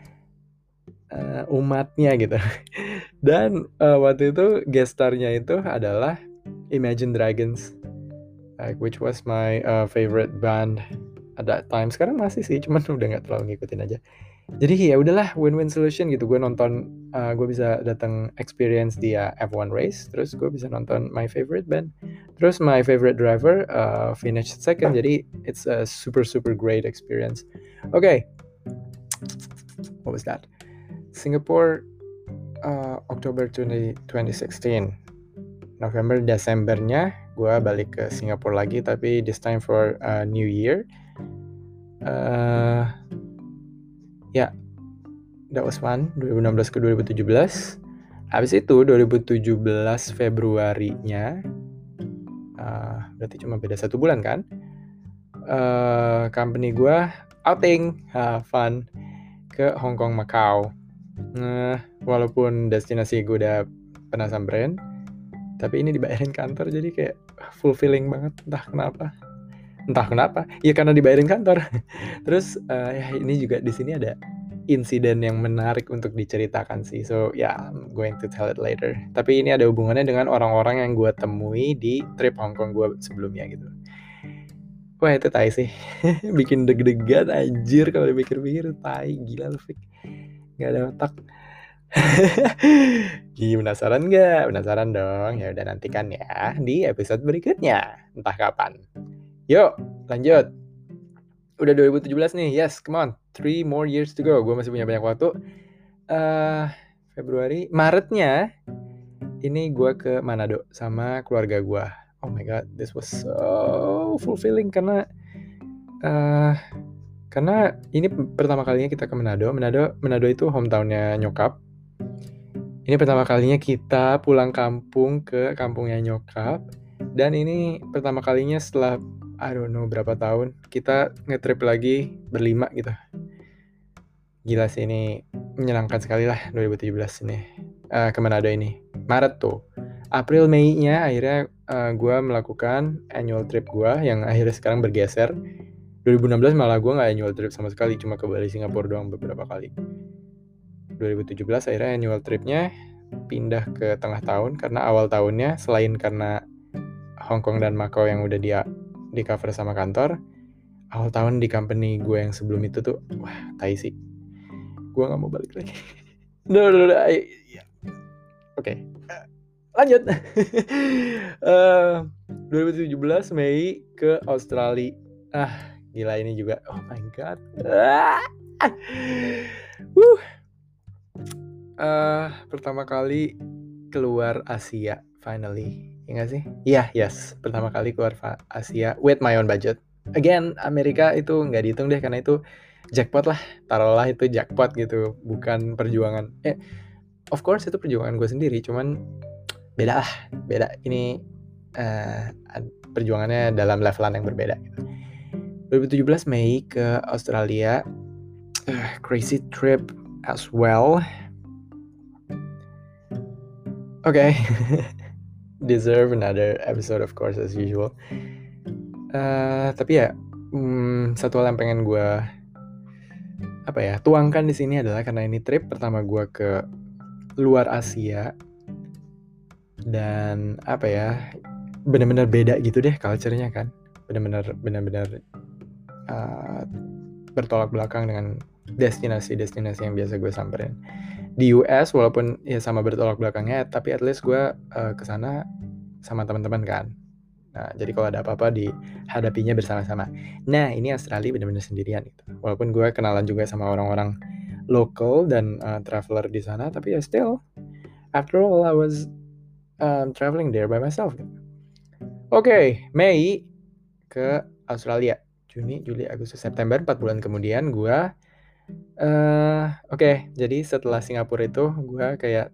uh, umatnya gitu. Dan uh, waktu itu guest star-nya itu adalah Imagine Dragons, like, which was my uh, favorite band at that time. Sekarang masih sih, cuman udah nggak terlalu ngikutin aja. Jadi ya udahlah, win-win solution gitu. Gue nonton, uh, gue bisa datang experience di uh, F one race, terus gue bisa nonton my favorite band, terus my favorite driver uh, finished second. Jadi it's a super super great experience. Oke, okay. What was that? Singapore, uh, Oktober twenty sixteen. November Desembernya gue balik ke Singapura lagi, tapi this time for uh, New Year. Uh, Ya, yeah, that was fun. dua ribu enam belas ke dua ribu tujuh belas. Habis itu dua ribu tujuh belas Februarinya, uh, berarti cuma beda satu bulan kan? Uh, company gue outing, uh, fun, ke Hong Kong, Macau. Nah, walaupun destinasi gue udah pernah samperin, tapi ini dibayarin kantor, jadi kayak fulfilling banget. Entah kenapa. Entah kenapa, ya karena dibayarin kantor. Terus uh, ya ini juga di sini ada insiden yang menarik untuk diceritakan sih. So ya, yeah, I'm going to tell it later. Tapi ini ada hubungannya dengan orang-orang yang gue temui di trip Hong Kong gue sebelumnya gitu. Wah itu tai sih. Bikin deg-degan anjir kalau dipikir-pikir. Tai, gila lu Fik. Gak ada otak. Gila, penasaran gak? Penasaran dong. Ya udah, nantikan ya di episode berikutnya. Entah kapan. Yuk, lanjut. Udah dua ribu tujuh belas nih. Yes, come on. Three more years to go. Gue masih punya banyak waktu. Uh, Februari, Maretnya, ini gue ke Manado sama keluarga gue. Oh my god, this was so fulfilling karena uh, karena ini pertama kalinya kita ke Manado. Manado, Manado itu hometownnya nyokap. Ini pertama kalinya kita pulang kampung ke kampungnya nyokap. Dan ini pertama kalinya setelah I don't know berapa tahun kita nge-trip lagi berlima gitu. Gila sih, ini menyenangkan sekali lah dua ribu tujuh belas ini. Uh, ke Manado ini. Maret tuh. April Mei-nya akhirnya uh, gue melakukan annual trip gue yang akhirnya sekarang bergeser. dua ribu enam belas malah gue gak annual trip sama sekali, cuma ke Bali Singapura doang beberapa kali. dua ribu tujuh belas akhirnya annual tripnya pindah ke tengah tahun karena awal tahunnya selain karena Hong Kong dan Macau yang udah dia di cover sama kantor, awal tahun di company gue yang sebelum itu tuh wah tai sih, gue nggak mau balik lagi. no, no, no, I, yeah. Oke, okay. uh, lanjut. uh, dua ribu tujuh belas Mei ke Australia. Ah gila ini juga, oh my god. Ah. uh. Uh, pertama kali keluar Asia finally. Ya gak sih? Iya, yeah, yes. Pertama kali keluar Asia with my own budget. Again, Amerika itu nggak dihitung deh karena itu jackpot lah. Taruhlah itu jackpot gitu, bukan perjuangan. Eh, of course itu perjuangan gue sendiri, cuman beda lah. Beda. Ini uh, perjuangannya dalam levelan yang berbeda. dua ribu tujuh belas Mei ke Australia. Uh, crazy trip as well. Oke. Okay. Deserve another episode of course as usual. Uh, tapi ya hmm, satu hal yang pengen gue apa ya tuangkan di sini adalah karena ini trip pertama gue ke luar Asia dan apa ya benar-benar beda gitu deh culture-nya kan, benar-benar benar-benar uh, bertolak belakang dengan destinasi-destinasi yang biasa gue samperin di U S. Walaupun ya sama bertolak belakangnya, tapi at least gue uh, kesana sama teman-teman kan. Nah, jadi kalau ada apa-apa dihadapinya bersama-sama. Nah, ini Australia benar-benar sendirian gitu. Walaupun gue kenalan juga sama orang-orang local dan uh, traveler di sana, tapi ya still, after all, I was um, traveling there by myself. Gitu. Oke, okay, Mei ke Australia. Juni, Juli, Agustus, September, empat bulan kemudian gue, uh, oke, okay, jadi setelah Singapura itu, gue kayak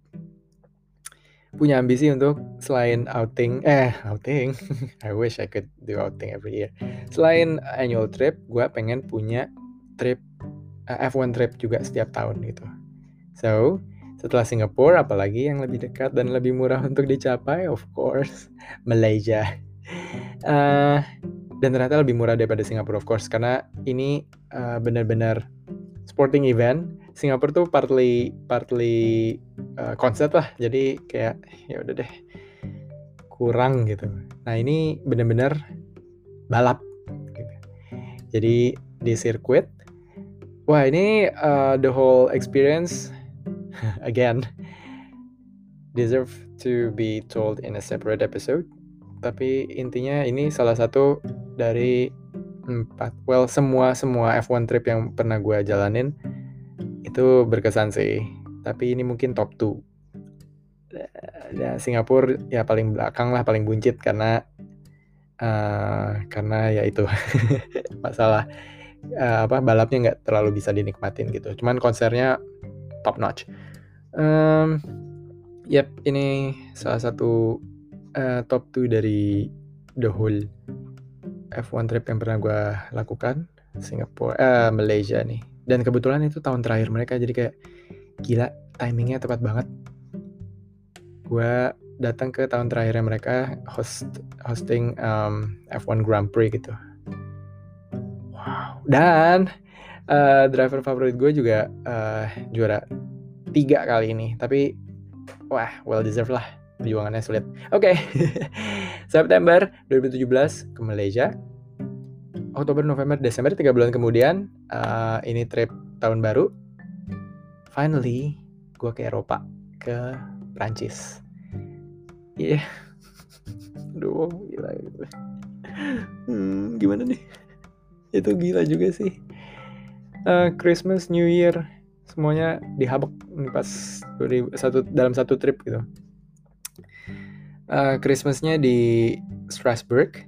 punya ambisi untuk selain outing, eh outing, I wish I could do outing every year. Selain annual trip, gue pengen punya trip, uh, F one trip juga setiap tahun gitu. So, setelah Singapura, apalagi yang lebih dekat dan lebih murah untuk dicapai, of course, Malaysia. Uh, dan ternyata lebih murah daripada Singapura, of course, karena ini uh, benar-benar sporting event. Singapura tuh partly partly uh, konsep lah, jadi kayak ya udah deh kurang gitu. Nah ini benar-benar balap gitu. Jadi di sirkuit, wah ini uh, the whole experience again deserve to be told in a separate episode. Tapi intinya ini salah satu dari empat, well semua semua F one trip yang pernah gue jalanin itu berkesan sih. Tapi ini mungkin top dua. Ya, Singapura ya paling belakang lah, paling buncit karena uh, karena ya itu masalah uh, apa balapnya nggak terlalu bisa dinikmatin gitu. Cuman konsernya top notch. Um, yep, ini salah satu uh, top dua dari the whole F one trip yang pernah gue lakukan. Singapura, uh, Malaysia nih. Dan kebetulan itu tahun terakhir mereka, jadi kayak gila timingnya tepat banget. Gue datang ke tahun terakhirnya mereka host hosting um, F one Grand Prix gitu. Wow. Dan uh, driver favorit gue juga uh, juara tiga kali ini. Tapi wah well deserved lah, perjuangannya sulit. Oke, okay. September dua ribu tujuh belas ke Malaysia. Oktober, November, Desember, tiga bulan kemudian uh, ini trip tahun baru. Finally, gue ke Eropa, ke Prancis. Iya, yeah. Aduh, gila gitu. Hmm, gimana nih? Itu gila juga sih. Uh, Christmas, New Year, semuanya dihabek pas satu dalam satu trip gitu. Uh, Christmasnya di Strasbourg.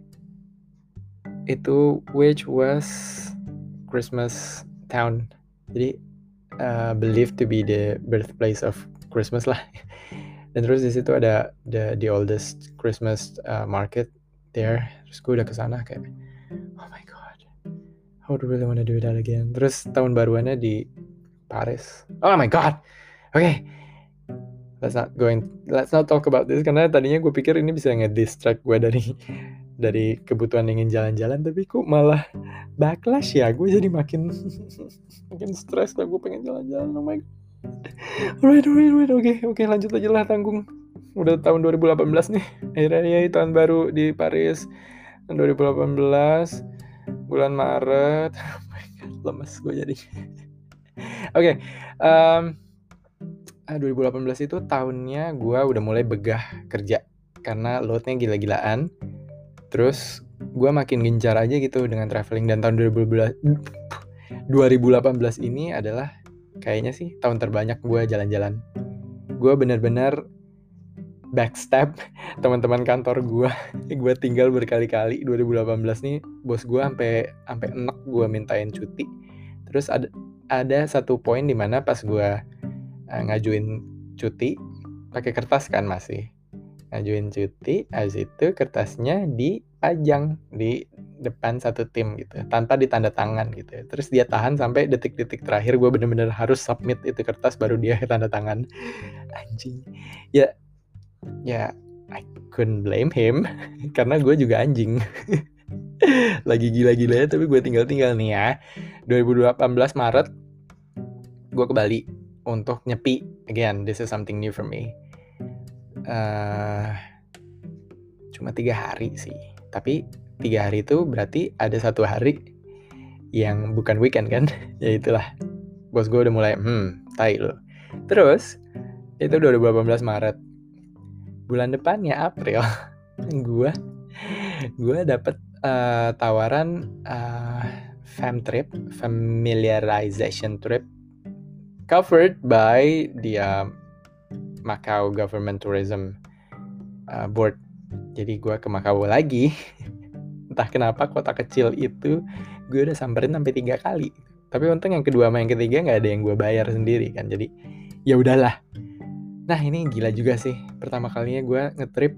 Itu which was Christmas town, jadi uh, believed to be the birthplace of Christmas lah. Dan terus di situ ada the, the oldest Christmas uh, market there. Terus gue udah kesana kayak, oh my god, I would really wanna do that again. Terus tahun baruannya di Paris. Oh my god. Oke. Okay. Let's not going let's not talk about this karena tadinya gue pikir ini bisa nge-distract gue dari dari kebutuhan ingin jalan-jalan, tapi kok malah backlash ya. Gue jadi makin makin stres lah, gue pengen jalan-jalan. Oh my god. Alright, alright, alright. Oke, okay, oke, okay, lanjut aja lah, tanggung. Udah tahun dua ribu delapan belas nih. Akhirnya ya tahun baru di Paris. Tahun dua ribu delapan belas bulan Maret. Oh my god, lemes gue jadi. Oke, okay, um, dua ribu delapan belas itu tahunnya gue udah mulai begah kerja karena loadnya gila-gilaan. Terus gue makin gencar aja gitu dengan traveling. Dan tahun dua ribu delapan belas ini adalah kayaknya sih tahun terbanyak gue jalan-jalan. Gue bener-bener backstab teman-teman kantor gue. Gue tinggal berkali-kali. Dua ribu delapan belas nih bos gue sampai sampai enek gue mintain cuti. Terus ada ada satu poin di mana pas gue uh, ngajuin cuti pakai kertas kan, masih ngajuin cuti, habis itu kertasnya dipajang di depan satu tim gitu tanpa ditanda tangan gitu. Terus dia tahan sampai detik-detik terakhir. Gue bener-bener harus submit itu kertas baru dia tanda tangan. Anjing. Ya ya I couldn't blame him karena gue juga anjing. Lagi gila-gilanya tapi gue tinggal-tinggal nih ya. dua ribu delapan belas Maret gue ke Bali untuk nyepi. Again, this is something new for me. Uh, cuma tiga hari sih, tapi tiga hari itu berarti ada satu hari yang bukan weekend kan. Ya itulah, bos gue udah mulai hmm tai lo. Terus itu dua ribu delapan belas Maret. Bulan depannya April gue gue dapet uh, tawaran uh, fam trip, familiarization trip covered by the uh, Macau Government Tourism uh, Board. Jadi gue ke Macau lagi. Entah kenapa kota kecil itu gue udah samperin sampai tiga kali. Tapi untung yang kedua sama yang ketiga nggak ada yang gue bayar sendiri kan. Jadi ya udahlah. Nah ini gila juga sih. Pertama kalinya gue ngetrip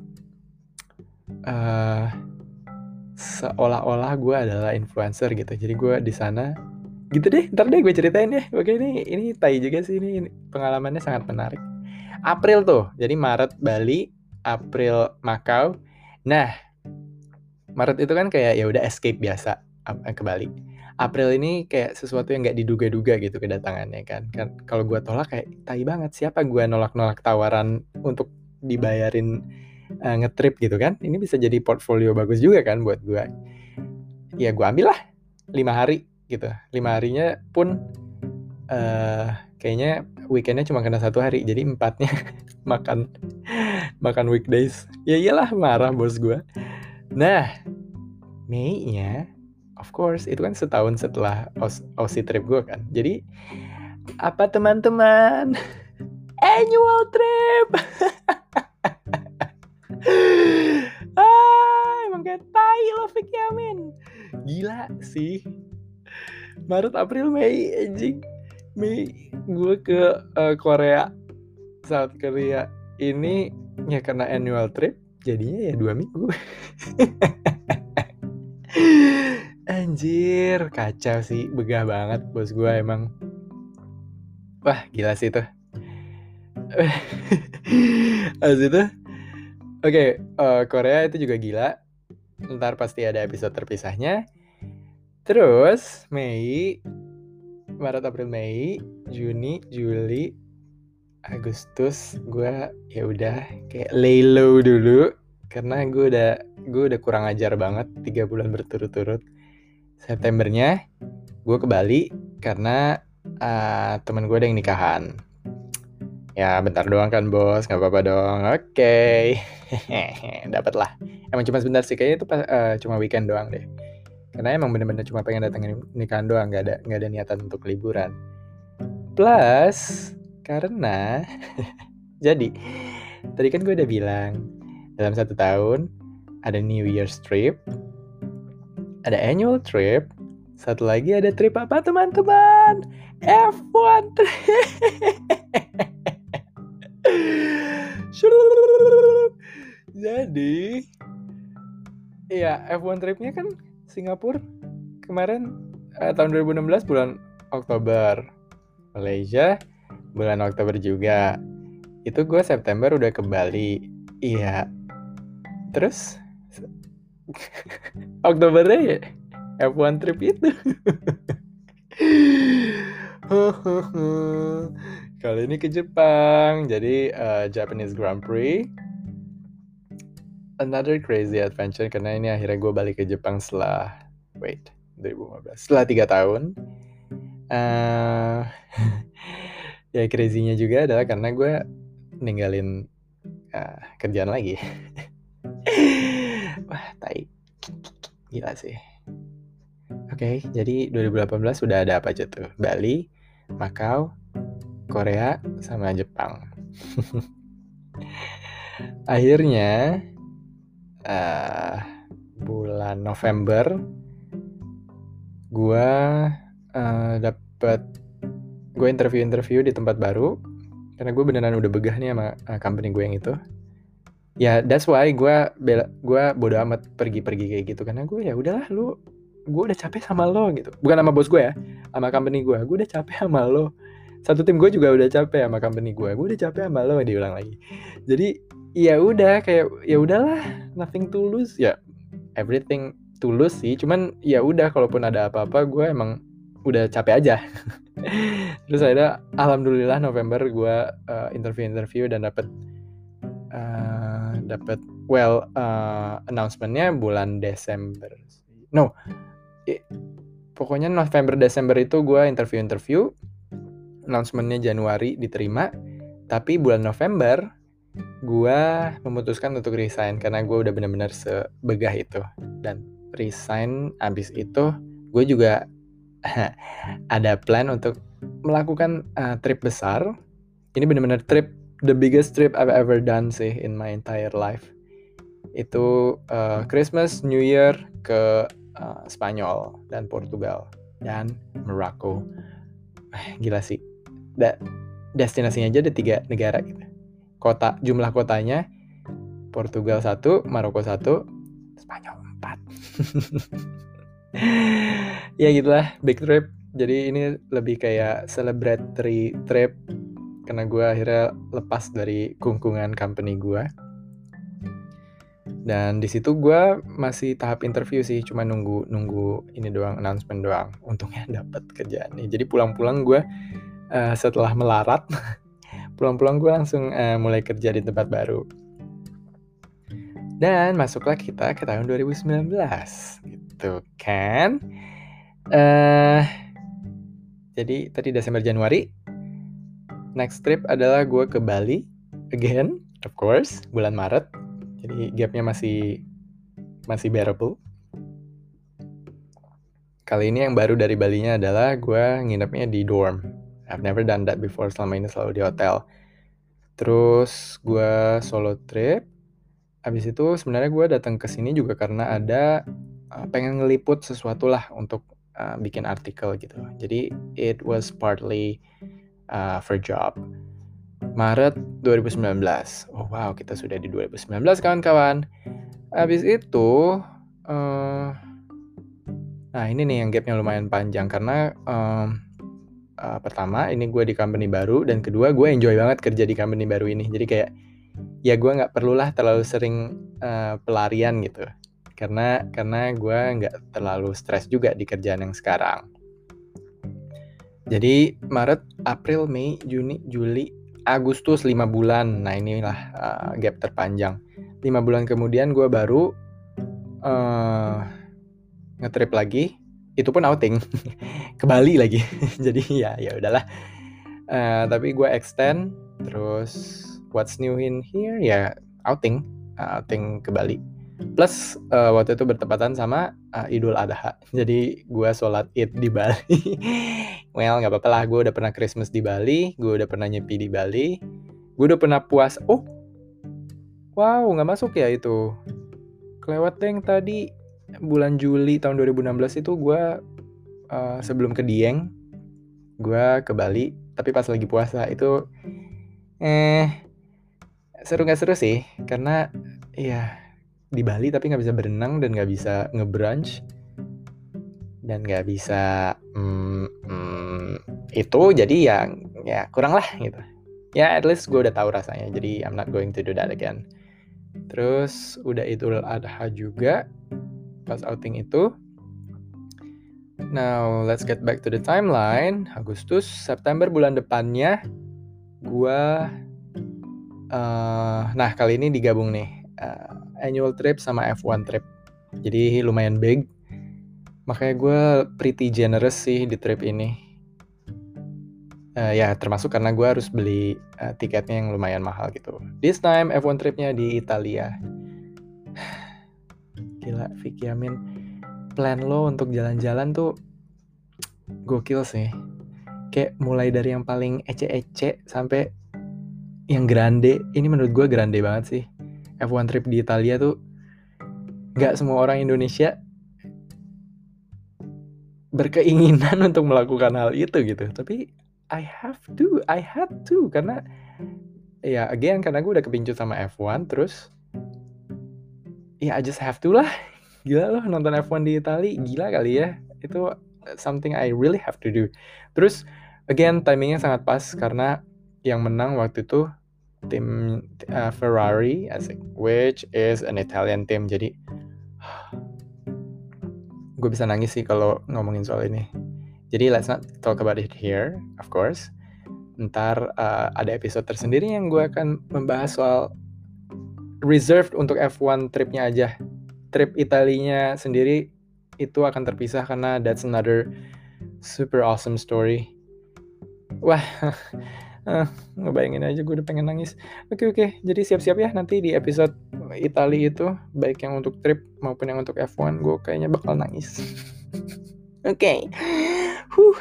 uh, seolah-olah gue adalah influencer gitu. Jadi gue di sana gitu deh. Ntar deh gue ceritain deh. Oke, ini ini tai juga sih, ini, ini pengalamannya sangat menarik. April tuh, jadi Maret Bali, April Macau. Nah, Maret itu kan kayak ya udah escape biasa ke Bali. April ini kayak sesuatu yang nggak diduga-duga gitu kedatangannya kan. Kan kalau gue tolak kayak tai banget. Siapa gue nolak-nolak tawaran untuk dibayarin uh, ngetrip gitu kan? Ini bisa jadi portfolio bagus juga kan buat gue. Ya gue ambil lah lima hari gitu. Lima harinya pun uh, kayaknya weekendnya cuma kena satu hari, jadi empatnya makan makan weekdays. Ya iyalah, marah bos gue. Nah, Mei-nya, of course, itu kan setahun setelah Aussie trip gue kan. Jadi, apa teman-teman? Annual trip! ah, emang kayak tai lo, Fik Yamin. Gila sih. Maret, April, Mei, anjing. Mei gue ke uh, Korea, South Korea ini ya karena annual trip jadinya ya dua minggu. Anjir, kacau sih, begah banget bos gue emang. Wah gila sih itu. Habis itu oke okay, uh, Korea itu juga gila. Ntar pasti ada episode terpisahnya. Terus Mei, Maret, April, Mei, Juni, Juli, Agustus gue ya udah kayak lay low dulu karena gue udah gue udah kurang ajar banget tiga bulan berturut-turut. Septembernya gue ke Bali karena uh, teman gue ada yang nikahan. Ya bentar doang kan bos, nggak apa-apa dong. Oke, okay. Dapat lah. Emang cuma sebentar sih, kayaknya itu uh, cuma weekend doang deh. Karena emang bener-bener cuma pengen datengin nikahan doang, nggak ada nggak ada niatan untuk liburan. Plus karena jadi tadi kan gue udah bilang dalam satu tahun ada New Year's trip, ada annual trip, satu lagi ada trip apa teman-teman? F one trip. Shut Jadi iya, F satu tripnya kan Singapura kemarin eh, tahun dua ribu enam belas bulan Oktober. Malaysia bulan Oktober juga. Itu gue September udah ke Bali. Iya. Terus Oktobernya ya F satu trip itu. Kali ini ke Jepang. Jadi uh, Japanese Grand Prix. Another crazy adventure karena ini akhirnya gue balik ke Jepang setelah wait dua ribu lima belas setelah tiga tahun. Uh, ya crazy-nya juga adalah karena gue ninggalin uh, kerjaan lagi. Wah, tai. Gila sih. Oke, okay, jadi dua ribu delapan belas sudah ada apa aja tuh? Bali, Macau, Korea, sama Jepang. Akhirnya uh, bulan November gue uh, dapet gue interview-interview di tempat baru karena gue beneran udah begah nih sama uh, company gue yang itu. Ya, yeah, that's why gue gue bodo amat pergi-pergi kayak gitu karena gue ya udahlah lu, gue udah capek sama lo gitu. Bukan sama bos gue ya, sama company gue. Gue udah capek sama lo. Satu tim gue juga udah capek sama company gue. Gue udah capek sama lo, diulang lagi. Jadi ya udah kayak ya udahlah, nothing to lose ya, everything to lose sih. Cuman ya udah kalaupun ada apa-apa gue emang udah capek aja. Terus akhirnya alhamdulillah November gue uh, interview-interview dan dapet uh, dapet well uh, announcement-nya bulan Desember. No, I, pokoknya November Desember itu gue interview-interview. Announcement-nya Januari diterima, tapi bulan November gue memutuskan untuk resign karena gue udah benar-benar sebegah itu. Dan resign abis itu gue juga ada plan untuk melakukan uh, trip besar. Ini benar-benar trip, the biggest trip I've ever done sih in my entire life. Itu uh, Christmas, New Year ke uh, Spanyol dan Portugal dan Morocco. Gila sih. Da- destinasinya aja ada tiga negara gitu. Kota, jumlah kotanya Portugal satu, Maroko satu, Spanyol empat. Ya gitulah, big trip. Jadi ini lebih kayak celebratory trip karena gue akhirnya lepas dari kungkungan company gue. Dan di situ gue masih tahap interview sih, cuma nunggu nunggu ini doang, announcement doang. Untungnya dapat kerjaan nih. Jadi pulang-pulang gue uh, setelah melarat, pulang-pulang gue langsung uh, mulai kerja di tempat baru. Dan masuklah kita ke tahun dua ribu sembilan belas, gitu kan? Uh, jadi tadi Desember Januari, next trip adalah gue ke Bali again, of course, bulan Maret. Jadi gapnya masih masih bearable. Kali ini yang baru dari Balinya adalah gue nginepnya di dorm. I've never done that before, selama ini selalu di hotel. Terus gue solo trip. Habis itu sebenarnya gue datang ke sini juga karena ada uh, pengen ngeliput sesuatu lah untuk uh, bikin artikel gitu. Jadi it was partly uh, for job. Maret dua ribu sembilan belas. Oh wow, kita sudah di dua ribu sembilan belas kawan-kawan. Habis itu uh, nah ini nih yang gapnya lumayan panjang karena um, uh, pertama ini gue di company baru dan kedua gue enjoy banget kerja di company baru ini. Jadi kayak ya gue nggak perlulah terlalu sering uh, pelarian gitu karena karena gue nggak terlalu stres juga di kerjaan yang sekarang. Jadi Maret, April, Mei, Juni, Juli, Agustus lima bulan. Nah inilah uh, gap terpanjang. lima bulan kemudian gue baru uh, ngetrip lagi. Itu pun outing ke Bali lagi. Jadi ya ya udahlah. Uh, tapi gue extend terus. What's new in here? Ya outing, uh, outing ke Bali. Plus uh, waktu itu bertepatan sama uh, Idul Adha. Jadi gue sholat Id di Bali. Well nggak apa-apa lah. Gue udah pernah Christmas di Bali. Gue udah pernah nyepi di Bali. Gue udah pernah puasa. Oh, wow nggak masuk ya itu. Kelewat deh yang tadi bulan Juli tahun dua ribu enam belas itu gue uh, sebelum ke Dieng. Gue ke Bali. Tapi pas lagi puasa itu eh Seru nggak seru sih, karena ya di Bali tapi nggak bisa berenang dan nggak bisa nge-brunch dan nggak bisa mm, mm, itu, jadi ya ya kurang lah gitu. Ya at least gue udah tahu rasanya, jadi I'm not going to do that again. Terus udah Idul Adha juga pas outing itu. Now let's get back to the timeline. Agustus, September bulan depannya gue uh, nah kali ini digabung nih uh, annual trip sama F one trip, jadi lumayan big, makanya gue pretty generous sih di trip ini. Uh, ya termasuk karena gue harus beli uh, tiketnya yang lumayan mahal gitu. This time F one tripnya di Italia. Gila Vicky Amin, plan lo untuk jalan-jalan tuh gokil sih. Kayak mulai dari yang paling ece-ece sampai yang grande. Ini menurut gue grande banget sih. F one trip di Italia tuh gak semua orang Indonesia berkeinginan untuk melakukan hal itu gitu. Tapi I have to, I had to. Karena ya again, karena gue udah kepincut sama F one. Terus ya I just have to lah. Gila loh nonton F one di Italia. Gila kali ya. Itu something I really have to do. Terus again timingnya sangat pas, karena yang menang waktu itu tim uh, Ferrari, asik, which is an Italian team. Jadi gue bisa nangis sih kalau ngomongin soal ini. Jadi let's not talk about it here, of course. Ntar uh, ada episode tersendiri yang gue akan membahas soal reserved untuk F one tripnya aja. Trip Italinya sendiri itu akan terpisah karena that's another super awesome story. Wah, uh, ngebayangin aja gue udah pengen nangis. Oke oke, jadi siap-siap ya nanti di episode Italia itu, baik yang untuk trip maupun yang untuk F one, gue kayaknya bakal nangis. Oke, okay. huh.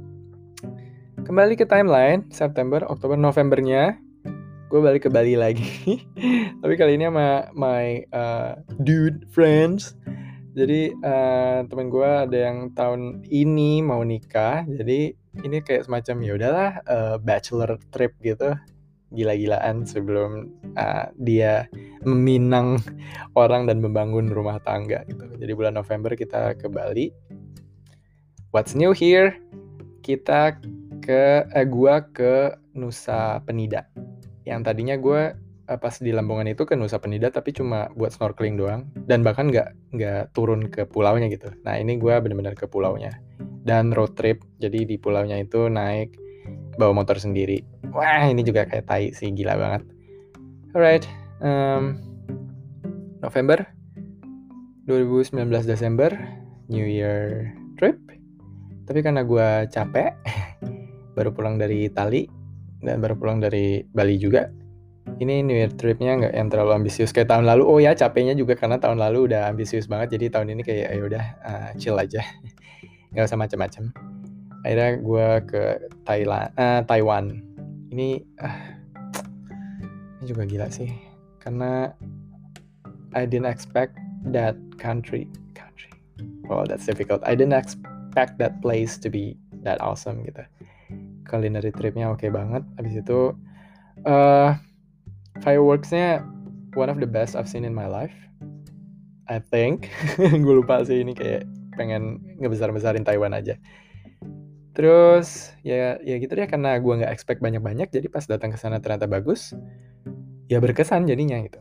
Kembali ke timeline, September, Oktober, Novembernya gue balik ke Bali lagi. Tapi kali ini sama my uh, dude friends. Jadi uh, temen gue ada yang tahun ini mau nikah. Jadi ini kayak semacam ya udahlah uh, bachelor trip gitu, gila-gilaan sebelum uh, dia meminang orang dan membangun rumah tangga gitu. Jadi bulan November kita ke Bali. What's new here? Kita ke eh, gue ke Nusa Penida. Yang tadinya gue uh, pas di Lamongan itu ke Nusa Penida tapi cuma buat snorkeling doang, dan bahkan nggak nggak turun ke pulaunya gitu. Nah ini gue benar-benar ke pulaunya dan road trip. Jadi di pulaunya itu naik bawa motor sendiri. Wah ini juga kayak tai sih, gila banget. Alright, um, November dua ribu sembilan belas, Desember New Year trip. Tapi karena gue capek, baru pulang dari Itali dan baru pulang dari Bali juga, ini New Year tripnya nggak yang terlalu ambisius kayak tahun lalu. Oh ya, capeknya juga karena tahun lalu udah ambisius banget. Jadi tahun ini kayak ya udah uh, chill aja, nggak usah macam-macam. Akhirnya gue ke Thailand, uh, Taiwan. Ini, uh, ini juga gila sih, karena I didn't expect that country. Country. Well, that's difficult. I didn't expect that place to be that awesome gitu. Culinary tripnya oke okay banget. Abis itu uh, fireworksnya one of the best I've seen in my life, I think. Gue lupa sih, ini kayak pengen ngebesar-besarin Taiwan aja. Terus ya ya gitu deh, karena gue nggak expect banyak-banyak, jadi pas datang ke sana ternyata bagus. Ya berkesan jadinya gitu.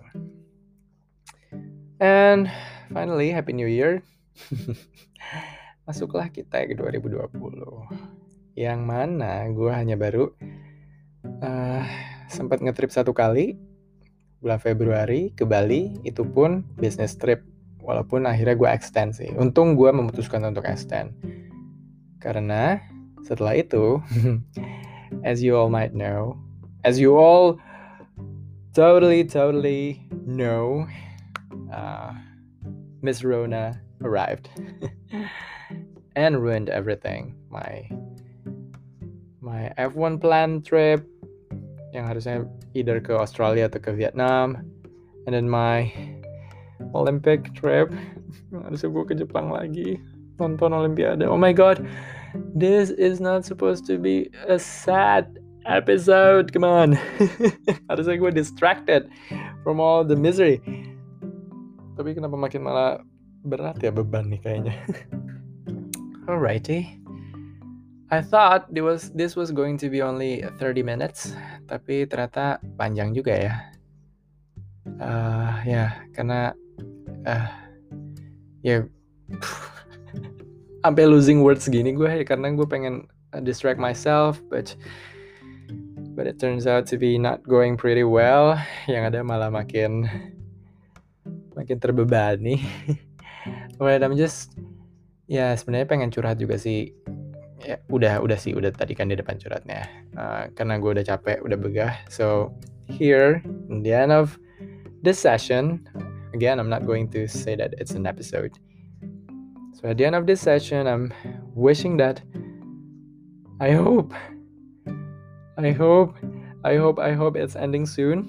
And finally, Happy New Year. Masuklah kita ke dua ribu dua puluh. Yang mana gue hanya baru uh, sempat ngetrip satu kali bulan Februari ke Bali, itu pun business trip, walaupun akhirnya gue extend sih. Untung gue memutuskan untuk extend karena setelah itu as you all might know, as you all totally totally know, uh, Miss Rona arrived and ruined everything. My my F one plan trip yang harusnya either ke Australia atau ke Vietnam, and then my Olympic trip harusnya gue ke Jepang lagi nonton Olimpiade. Oh my god, this is not supposed to be a sad episode, come on. Harusnya gue distracted from all the misery. Tapi kenapa makin malah berat ya beban nih kayaknya. Alrighty. I thought this was this was going to be only thirty minutes, tapi ternyata panjang juga ya. Uh, ya, karena uh, ya sampai losing words gini gue ya, karena gue pengen distract myself, but but it turns out to be not going pretty well. Yang ada malah makin makin terbebani. Well, I'm just ya sebenarnya pengen curhat juga sih. Ya udah udah sih udah tadi kan di depan curhatnya. Uh, karena gue udah capek, udah begah. So here in the end of this session, again I'm not going to say that it's an episode. So at the end of this session, I'm wishing that I hope, I hope, I hope, I hope it's ending soon.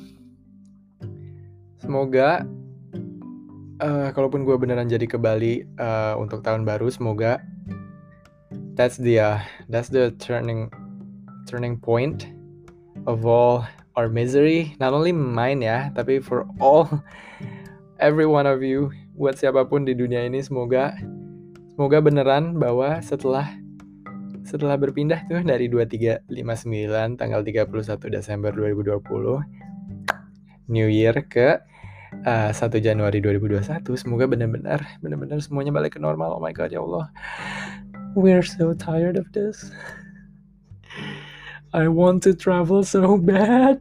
Semoga, uh, kalaupun gue beneran jadi ke Bali uh, untuk tahun baru, semoga that's the uh, that's the turning turning point of all our misery. Not only mine ya, tapi for all every one of you, buat siapapun di dunia ini, semoga semoga beneran bahwa setelah setelah berpindah tuh dari dua tiga lima sembilan tanggal tiga puluh satu Desember dua ribu dua puluh New Year ke uh, satu Januari dua ribu dua puluh satu, semoga benar-benar benar-benar semuanya balik ke normal. Oh my god, ya Allah. We're so tired of this. I want to travel so bad.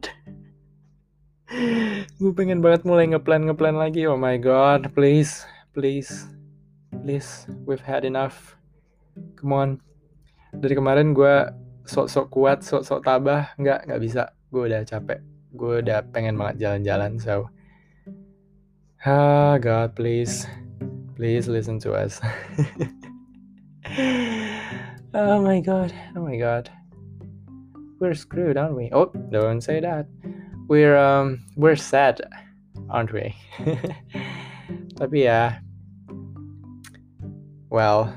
Gue pengen banget mulai ngeplan ngeplan lagi. Oh my god, please, please, please, we've had enough. Come on. Dari kemarin gue sok-sok kuat, sok-sok tabah, nggak nggak bisa. Gue udah capek. Gue udah pengen banget jalan-jalan. So, ah God, please, please listen to us. Oh my god, oh my god. We're screwed, aren't we? Oh, don't say that. We're um we're sad, aren't we? Tapi ya, well,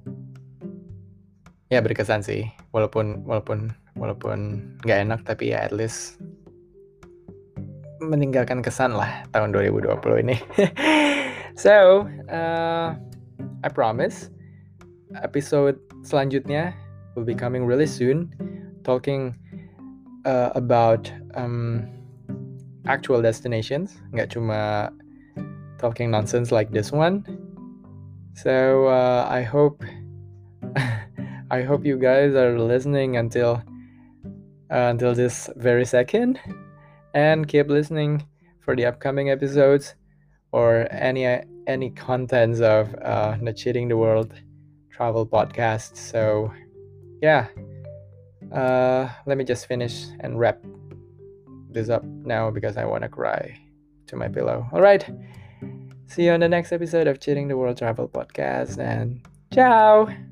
ya berkesan sih. Walaupun walaupun walaupun nggak enak, tapi ya at least meninggalkan kesan lah tahun dua ribu dua puluh ini. So, uh, I promise episode selanjutnya will be coming really soon, talking uh, about um, actual destinations, nggak cuma talking nonsense like this one. So uh, I hope I hope you guys are listening until uh, until this very second, and keep listening for the upcoming episodes or any any contents of uh, the Cheating the World travel podcast. So yeah, uh, let me just finish and wrap this up now because I want to cry to my pillow. All right, see you on the next episode of Cheating the World Travel Podcast, and ciao.